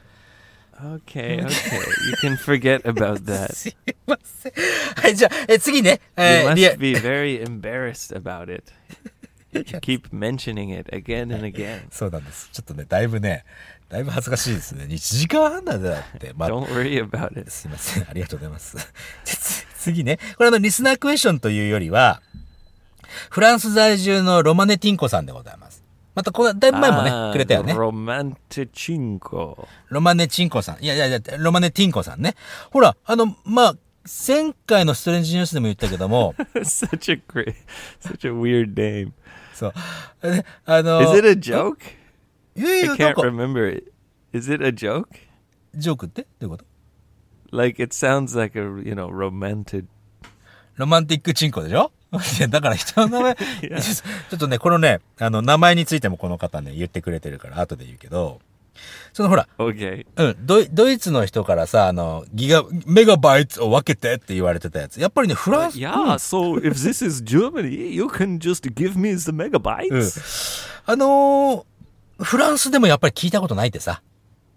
Okay, okay. You can forget about that. すいません。はい、じゃあ、え、次ね。 You えー、リア must be very embarrassed about it. You keep mentioning it again and again. そうなんです。ちょっとね、だいぶね、だいぶ恥ずかしいですね。いちじかんはんなんだって。まあ、 Don't worry about it. すいません。ありがとうございます。つ次ね。これあの、リスナークエスチョンというよりは、フランス在住のロマネティンコさんでございます。また、この、だいぶ前もね、 Ah, くれたよね。 Romantichinko. ロマネチンコさん。いやいやいや、ロマネティンコさんね。ほら、あの、まあ、前回のストレンジニュースでも言ったけども、 Such a great, such a weird name. そう。えあの、 Is it a joke? いやい I や、なん can't か、 remember it. Is it a joke? ジョークってどういうこと？ Like it sounds like a, you know, romantic. ロマンティックチンコでしょ？いや、だから人の名前、 やちょっとね、このね、あの、名前についてもこの方ね、言ってくれてるから、後で言うけど、そのほら、 Okay. うん、ドイ、ドイツの人からさ、あの、ギガ、メガバイツを分けてって言われてたやつ。やっぱりね、フランス、 Yeah, so if this is Germany, you can just give me the うん、 megabytes. あのー、フランスでもやっぱり聞いたことないってさ。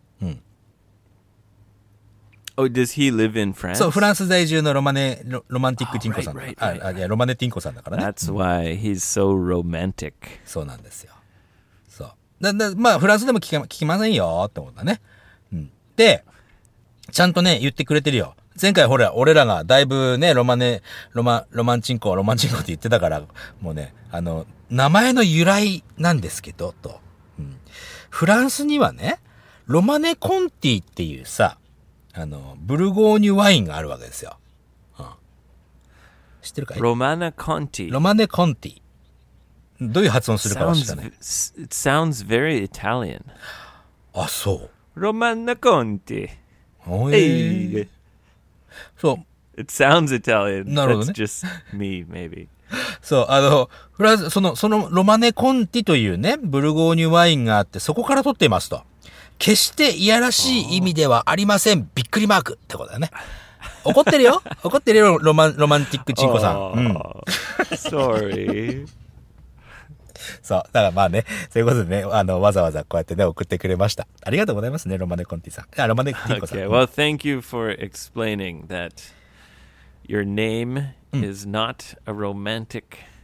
Oh, does he live in France? そう、フランス在住のロマネ、ロ、ロマンティックチンコさんだ Oh, right, から right, right. あ、あ、いや、ロマネティンコさんだからね。 That's why he's so romantic. そうなんですよ。そう。だ、だ、まあ、フランスでも聞け、聞きませんよって思ったね。うん。で、ちゃんとね、言ってくれてるよ。前回ほら、俺らがだいぶね、ロマネ、ロマ、ロマンチンコ、ロマンチンコって言ってたから、もうね、あの、名前の由来なんですけど、と。 うん。フランスにはね、ロマネコンティっていうさ、あの、ブルゴーニュワインがあるわけですよ。うん、知ってるかい？ ロマネコンティ。 ロマネコンティ。どういう発音するかは知らない。 It sounds very Italian. あ、そう。 ロマネコンティ。 おえー。そう。 It sounds Italian. なるほどね。 That's just me, maybe. そう、あの、フランス、その、そのロマネコンティというね、ブルゴーニュワインがあって、そこから取っていますと。決していやらしい意味ではありません。びっくりマークってことだよね。怒ってるよ。怒ってるよ、ロマン、ロマンティックチンコさん。うん。 Sorry. そう。だからまあね、そういうことでね、あの、わざわざこうやってね、送ってくれました。ありがとうございますね、ロマネコンティさん。あ、ロマネティンコさん。 Okay, well, thank you for explaining that your name is not a romantic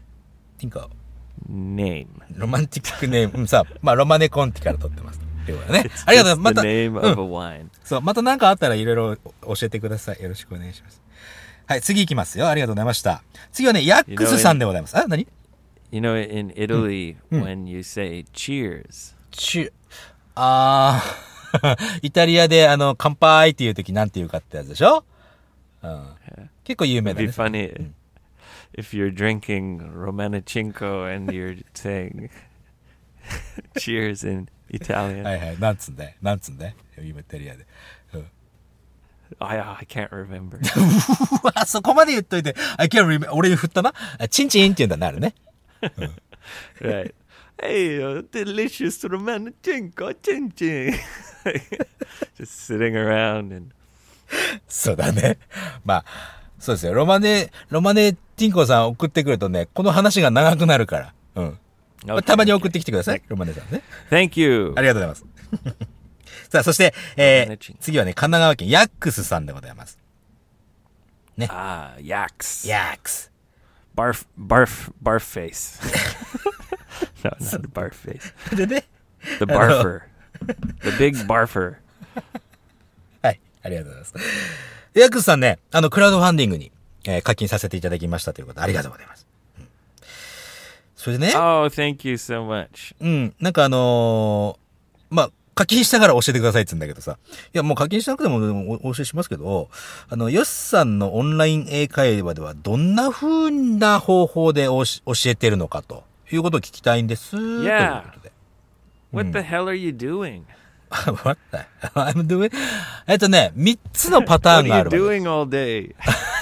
name. ロマンティックネーム。うん、さあ、まあ、ロマネコンティから取ってます。ということでね。ありがとう。また、 the name of a wine. そう、また何かあったらいろいろ教えてください。よろしくお願いします。はい、次行きますよ。ありがとうございました。次はね、ヤックスさんでございます。あ、何 ？You know, in Italy, when you say cheers. チュ、あー、イタリアであの、乾杯っていう時なんて言うかってやつでしょ？うん。結構有名だね。 It'd be funny if you're drinking Romanachinko and you're saying cheers in Italian. はいはい。なんつんだいなんつんだい今イタリアで。うん。 I, I can't remember. うわ、そこまで言っといて、I can't remember. 俺に振ったな。チンチンって言うんだなるね。 Right. Hey, uh, delicious Romanachinko, chin chin. Just sitting around and. そうだね。まあ、そうですよ。ロマネ、ロマネティンコさん送ってくるとね、この話が長くなるから。うん。 Okay, たまに送ってきてください。Okay. ロマネさんね。 Thank you. ありがとうございます。さあ、そして、えー、次はね、神奈川県ヤックスさんでございます。ね。 ああ、yaks. Yaks. Barf, barf, barf face. No, not the barf face. でね。 The barfer. The big barfer. はい。ありがとうございます。ヤックスさんね、あの、クラウドファンディングに、えー、課金させていただきましたということで、ありがとうございます。うん、それでね。 Oh, thank you so much. うん。なんかあのー、まあ、課金したから教えてくださいって言うんだけどさ。いや、もう課金しなくてもお教えしますけど、あの、ヨッさんのオンライン英会話ではどんな風な方法でおし教えてるのかということを聞きたいんです。 Yeah. ということで。 What the hell are you doing? What the hell I'm doing? えっとね、三つのパターンがある。 What are you doing all day?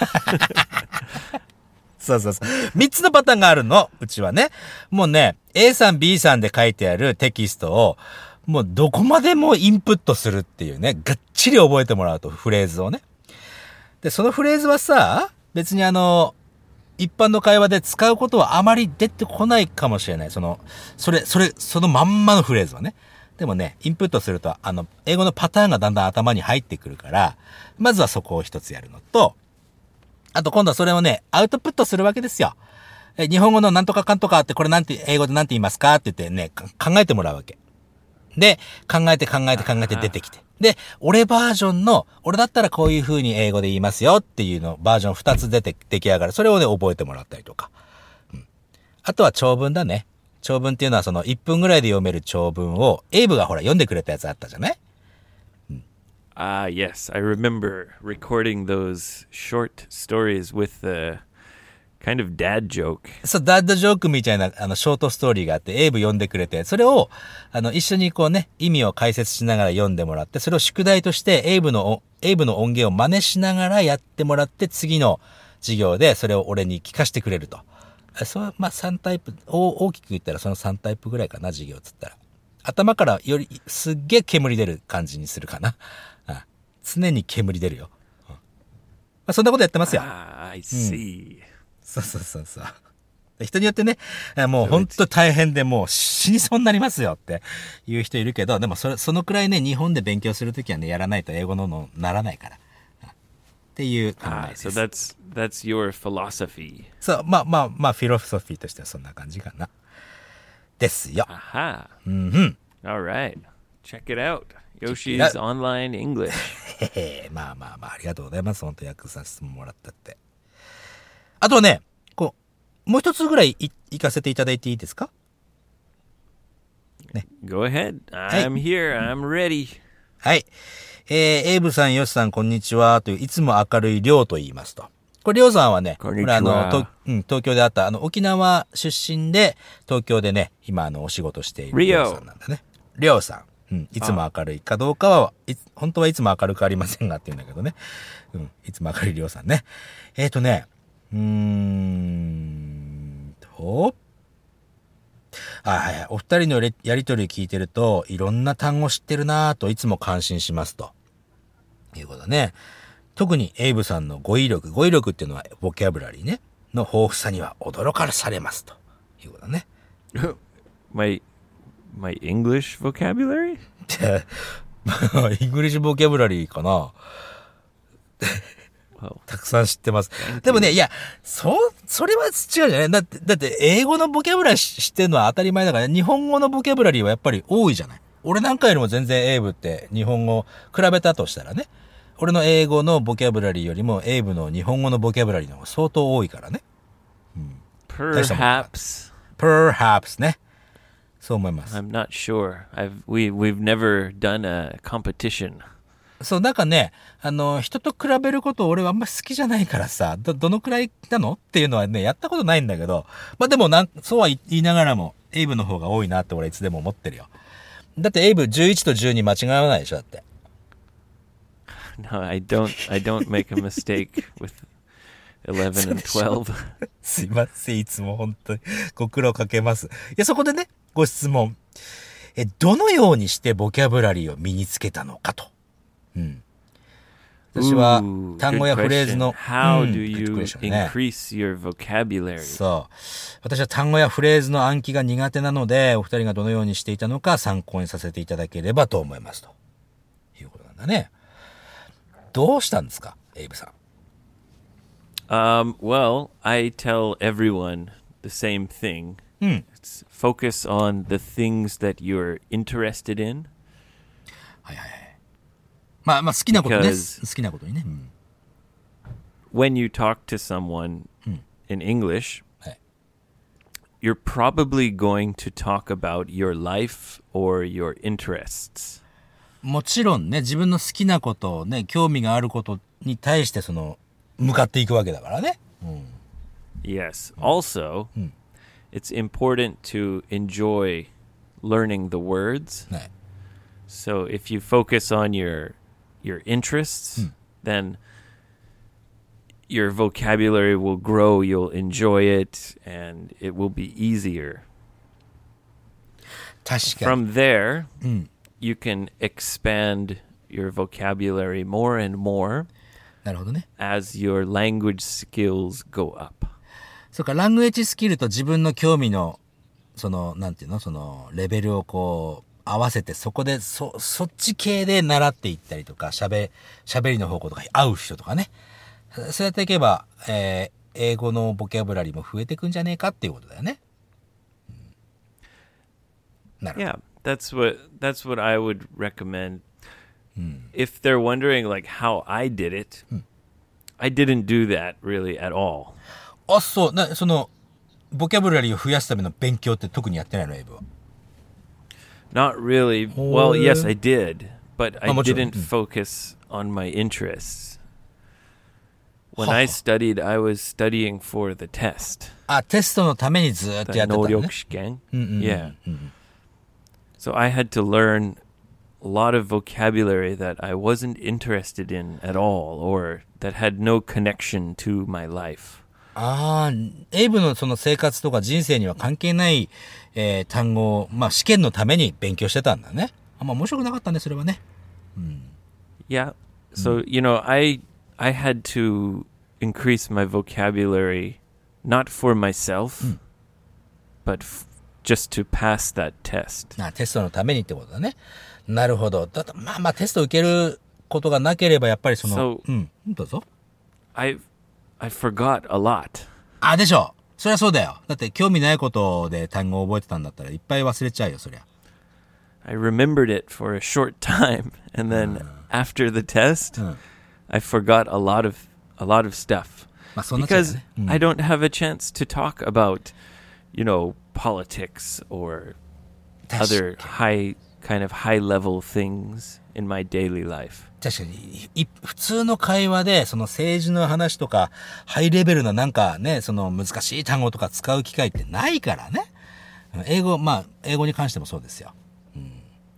そうそうそう。三つのパターンがあるの。うちはね。もうね、A さん、B さんで書いてあるテキストを、もうどこまでもインプットするっていうね、がっちり覚えてもらうと、フレーズをね。で、そのフレーズはさ、別にあの、一般の会話で使うことはあまり出てこないかもしれない。その、それ、それ、そのまんまのフレーズはね。でもね、インプットすると、あの、英語のパターンがだんだん頭に入ってくるから、まずはそこを一つやるのと、あと今度はそれをね、アウトプットするわけですよ。え、日本語のなんとかかんとかって、これなんて、英語でなんて言いますかって言ってね、考えてもらうわけ。で、考えて考えて考えて出てきて。で、俺バージョンの、俺だったらこういう風に英語で言いますよっていうの、バージョンふたつ出て、出来上がる。それをね、覚えてもらったりとか。うん。あとは長文だね。長文っていうのはそのいっぷんぐらいで読める長文を、エイブがほら読んでくれたやつあったじゃない？ うん。Ah, yes. I remember recording those short stories with the kind of dad joke. そう、ダッドジョークみたいな、あの、ショートストーリーがあって、エイブ読んでくれて、それを、あの、一緒にこうね、意味を解説しながら読んでもらって、それを宿題として、エイブの、エイブの音源を真似しながらやってもらって、次の授業でそれを俺に聞かせてくれると。そう、まあ、さんタイプ、大きく言ったらそのさんタイプぐらいかな、授業つったら。頭からより、すっげえ煙出る感じにするかな。あ、常に煙出るよ。うん、まあ、そんなことやってますよ。 Ah, I see.、うん、 そうそうそうそう。人によってね、もう本当大変でもう死にそうになりますよっていう人いるけど、でもそれ、そのくらいね、日本で勉強するときはね、やらないと英語ののならないから。っていう考えです。 Ah, so that's, that's your philosophy. そう、まあまあまあ、フィロソフィーとしてはそんな感じかな。ですよ。 Aha. うんうん。 All right. Check it out. Yoshi's Online English. へへ、まあまあまあ、ありがとうございます。本当訳させてもらったって。あとはね、もう一つぐらいい行かせていただいていいですかね。 Go Go ahead. はい I'm here. I'm ready. はい。えー、エイブさん、ヨシさん、こんにちは。という、いつも明るいリョウと言いますと。これ、リョウさんはね、 こんにちはれあの、とうん、東京であった、あの、沖縄出身で、東京でね、今、あの、お仕事しているリョウさんなんだね。リョウさん。うん、いつも明るいかどうかは、い本当はいつも明るくありませんがって言うんだけどね。うん、いつも明るいリョウさんね。えっ、ー、とね、うーんと、あ、はいはい。お二人のやりとりを聞いてると、いろんな単語知ってるなぁといつも感心しますと。いうことだね。特にエイブさんの語彙力、語彙力っていうのはボキャブラリーね、の豊富さには驚かされますと。いうことだね。 my, my English vocabulary? イングリッシュボキャブラリーかな。たくさん知ってます。でもね、いや、そ、それは違うじゃないだって、だって、英語のボキャブラリー知ってるのは当たり前だから、日本語のボキャブラリーはやっぱり多いじゃない。俺なんかよりも全然エイブって日本語比べたとしたらね、俺の英語のボキャブラリーよりもエイブの日本語のボキャブラリーの方が相当多いからね。 うん、Perhaps. Perhaps ね。そう思います。 I'm not sure. I've, we, we've never done a competition. そう、なんかね、あの、人と比べること俺はあんまり好きじゃないからさ、ど、どのくらいなのっていうのはね、やったことないんだけど、まあでもなん、そうは言いながらも、エイブの方が多いなって俺いつでも思ってるよ。だってエイブじゅういちとじゅうに間違わないでしょ、だって。 No, I don't, I don't make a mistake with eleven and twelve. すいません、いつも本当にご苦労かけます。いや、そこでね、ご質問。え、どのようにしてボキャブラリーを身につけたのかと。うん。私は単語やフレーズの、 How do you increase your vocabulary? そう。私は単語やフレーズの暗記が苦手なので、お二人がどのようにしていたのか参考にさせていただければと思いますと。いうことなんだね。どうしたんですか、エイブさん。 Um, well, I tell everyone the same thing. うん。 It's focus on the things that you're interested in. はいはいはい。まあまあ好きなことね。好きなことにね。うん、 When you talk to someone、うん、in English, はい、 you're probably going to talk about your life or your interests. もちろんね、自分の好きなことをね、興味があることに対してその向かっていくわけだからね。うん、 Yes. Also,、うん、it's important to enjoy learning the words. はい、 So if you focus on your your interests, hmm. then your vocabulary will grow, you'll enjoy it, and it will be easier. 確かに。 From there, うん、 you can expand your vocabulary more and more なるほどね。 as your language skills go up. そうか、ラングエッジスキルと自分の興味の、その、なんていうの、その、レベルをこう、合わせてそこでそそっち系で習っていったりとか喋喋りの方向とか合う人とかね、そうやっていけば、えー、英語のボキャブラリーも増えていくんじゃねえかっていうことだよね。うん、なるほど。 Yeah, that's what that's what I would recommend. うん、If they're wondering like how I did it,、うん、I didn't do that really at all. あ、そうな、そのボキャブラリーを増やすための勉強って特にやってないの、エイブは。 Not really. Well, yes, I did, but I didn't focus on my interests. When I studied, I was studying for the test. あ、テストのためにずっとやってたのね。 能力試験。Yeah. So I had to learn a lot of vocabulary that I wasn't interested in at all, or that had no connection to my life. ああ、エイブのその生活とか人生には関係ない、えー、単語を、まあ試験のために勉強してたんだね。あんま面白くなかったね、それはね。うん、 Yeah. So, you know, I, I had to increase my vocabulary not for myself,、うん、but f- just to pass that test. あ、テストのためにってことだね。なるほど。だってまあまあテスト受けることがなければやっぱりその、 so, うん、どうぞ。 I I forgot a lot. あ、でしょ。そりゃそうだよ。だって興味ないことで単語を覚えてたんだったらいっぱい忘れちゃうよ、そりゃ。 I remembered it for a short time, and then、uh, after the test,、uh, I forgot a lot of a lot of stuff、 まあ、そんなっちゃうね。 because、うん、I don't have a chance to talk about, you know, politics or other high, kind of high level things in my daily life. 確かに、い普通の会話で、その政治の話とか、ハイレベルななんかね、その難しい単語とか使う機会ってないからね。英語、まあ、英語に関してもそうですよ。うん、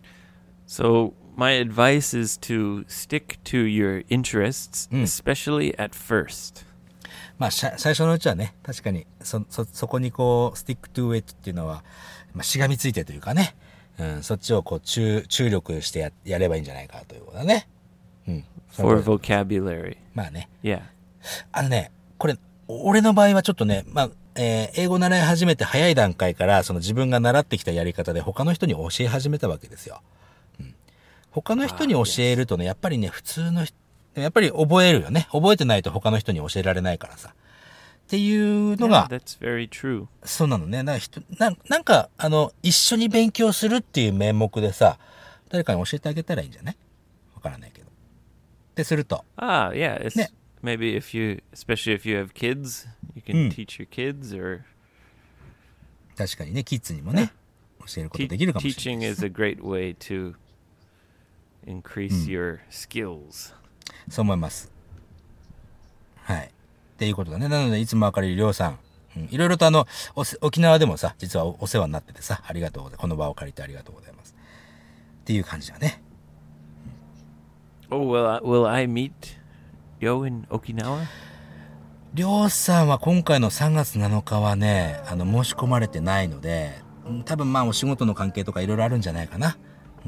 So, my advice is to stick to your interests, especially at first. まあ、最初のうちはね、確かに、そ、そ、そこにこう、stick to it っていうのは、まあ、しがみついてというかね、うん、そっちをこう、注、注力してや、やればいいんじゃないかということだね。うん。 For vocabulary. まあね。 Yeah. あのね、これ、俺の場合はちょっとね、まあ、えー、英語習い始めて早い段階から、その自分が習ってきたやり方で他の人に教え始めたわけですよ。うん、他の人に教えるとね、やっぱりね、普通の人、やっぱり覚えるよね。覚えてないと他の人に教えられないからさ。っていうのが、 yeah, that's very true. そうなのね。なんか人な、なんか、あの、一緒に勉強するっていう名目でさ、誰かに教えてあげたらいいんじゃない？わからないけど。ってすると。 Ah, yeah. It's, ね。 Maybe if you, especially if you have kids, you can、うん、teach your kids or... 確かにね、キッズにもね、教えることできるかもしれない。 Teaching is a great way to increase、うん、your skills. そう思います。はい。っていうことだね。なので、いつも明るいりょうさん、うん、いろいろとあの、沖縄でもさ、実は お, お世話になっててさ、ありがとうございます。この場を借りてありがとうございます。っていう感じだね。 うん、oh, will I, will I meet Yo in Okinawa? りょうさんは今回のさんがつなのかはね、あの、申し込まれてないので、多分まあお仕事の関係とかいろいろあるんじゃないかな。うん。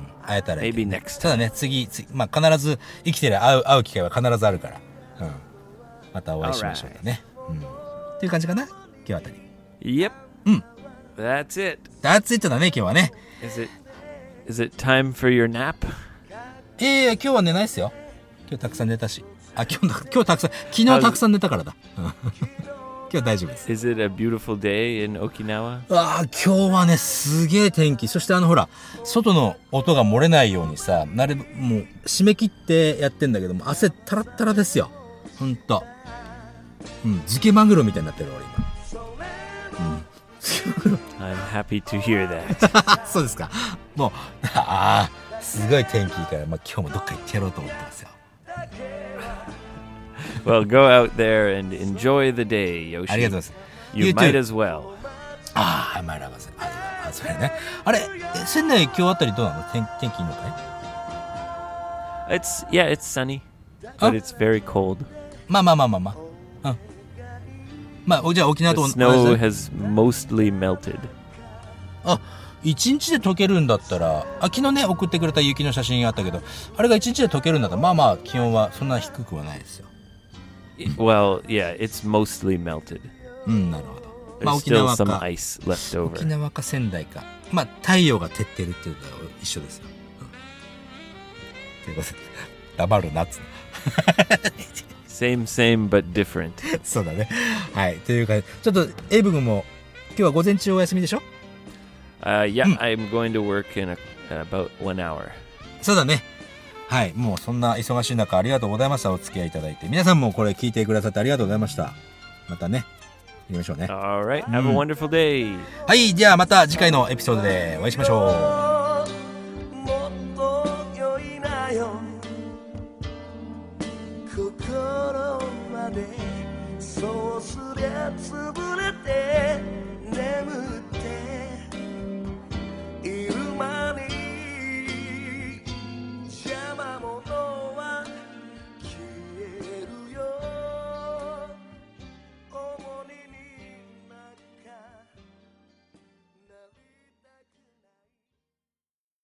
会えたらいい、ね。 Maybe next time. ただね、次、次、まあ必ず、生きてる会う、会う機会は必ずあるから。うん。またお会いしましょうね。うん。っていう感じかな？今日あたり。 Yep. うん。 That's it. That's it だね、今日はね。 Is it, is it time for your nap? ええー、今日は寝ないっすよ。今日たくさん寝たし。あ、今日、今日たくさん、昨日たくさん寝たからだ。今日大丈夫です。 Is it a beautiful day in Okinawa? ああ、今日はね、すげえ天気。そしてあのほら、外の音が漏れないようにさ、なるべくもう締め切ってやってんだけども、汗タラッタラですよ。ほんと。うん、漬けマグロみたいになってる俺今。うん。漬けマグロ。 I'm happy to hear that. そうですか。もう、ああ、すごい天気いいから、まあ今日もどっか行ってやろうと思ってますよ。 Well, go out there and enjoy the day, Yoshi. ありがとうございます。 You might as well. ああ、マイラバス。あ、あ、それね。あれ、仙台今日あたりどうなの？天天気いいのかい？ It's yeah, it's sunny, but it's very cold. まあまあまあまあまあ。うん。まあじゃあ沖縄と同じ。 The snow has mostly melted. あ、一日で溶けるんだったら、あ、昨日ね送ってくれた雪の写真あったけど、あれが一日で溶けるんだったら、まあまあ気温はそんな低くはないですよ。 Well, yeah, it's mostly melted. うん、なるほど。 まあ沖縄か、ice left over. 沖縄か仙台か。まあ太陽が照ってるっていうのは一緒ですよ。うん、ということで、黙るなっつうの。 Same, same, but different. そうだね。はい。というか、ちょっとエイブ君も今日は午前中お休みでしょ ？Uh, yeah,、うん、I'm going to work in a, about one hour. そうだね。はい。もうそんな忙しい中ありがとうございました。お付き合いいただいて。皆さんもこれ聞いてくださってありがとうございました。またね。やりましょうね。 Alright. Have、うん、a wonderful day. はい。じゃあまた次回のエピソードでお会いしましょう。もっと良いなよ。心までそうすりゃつぶ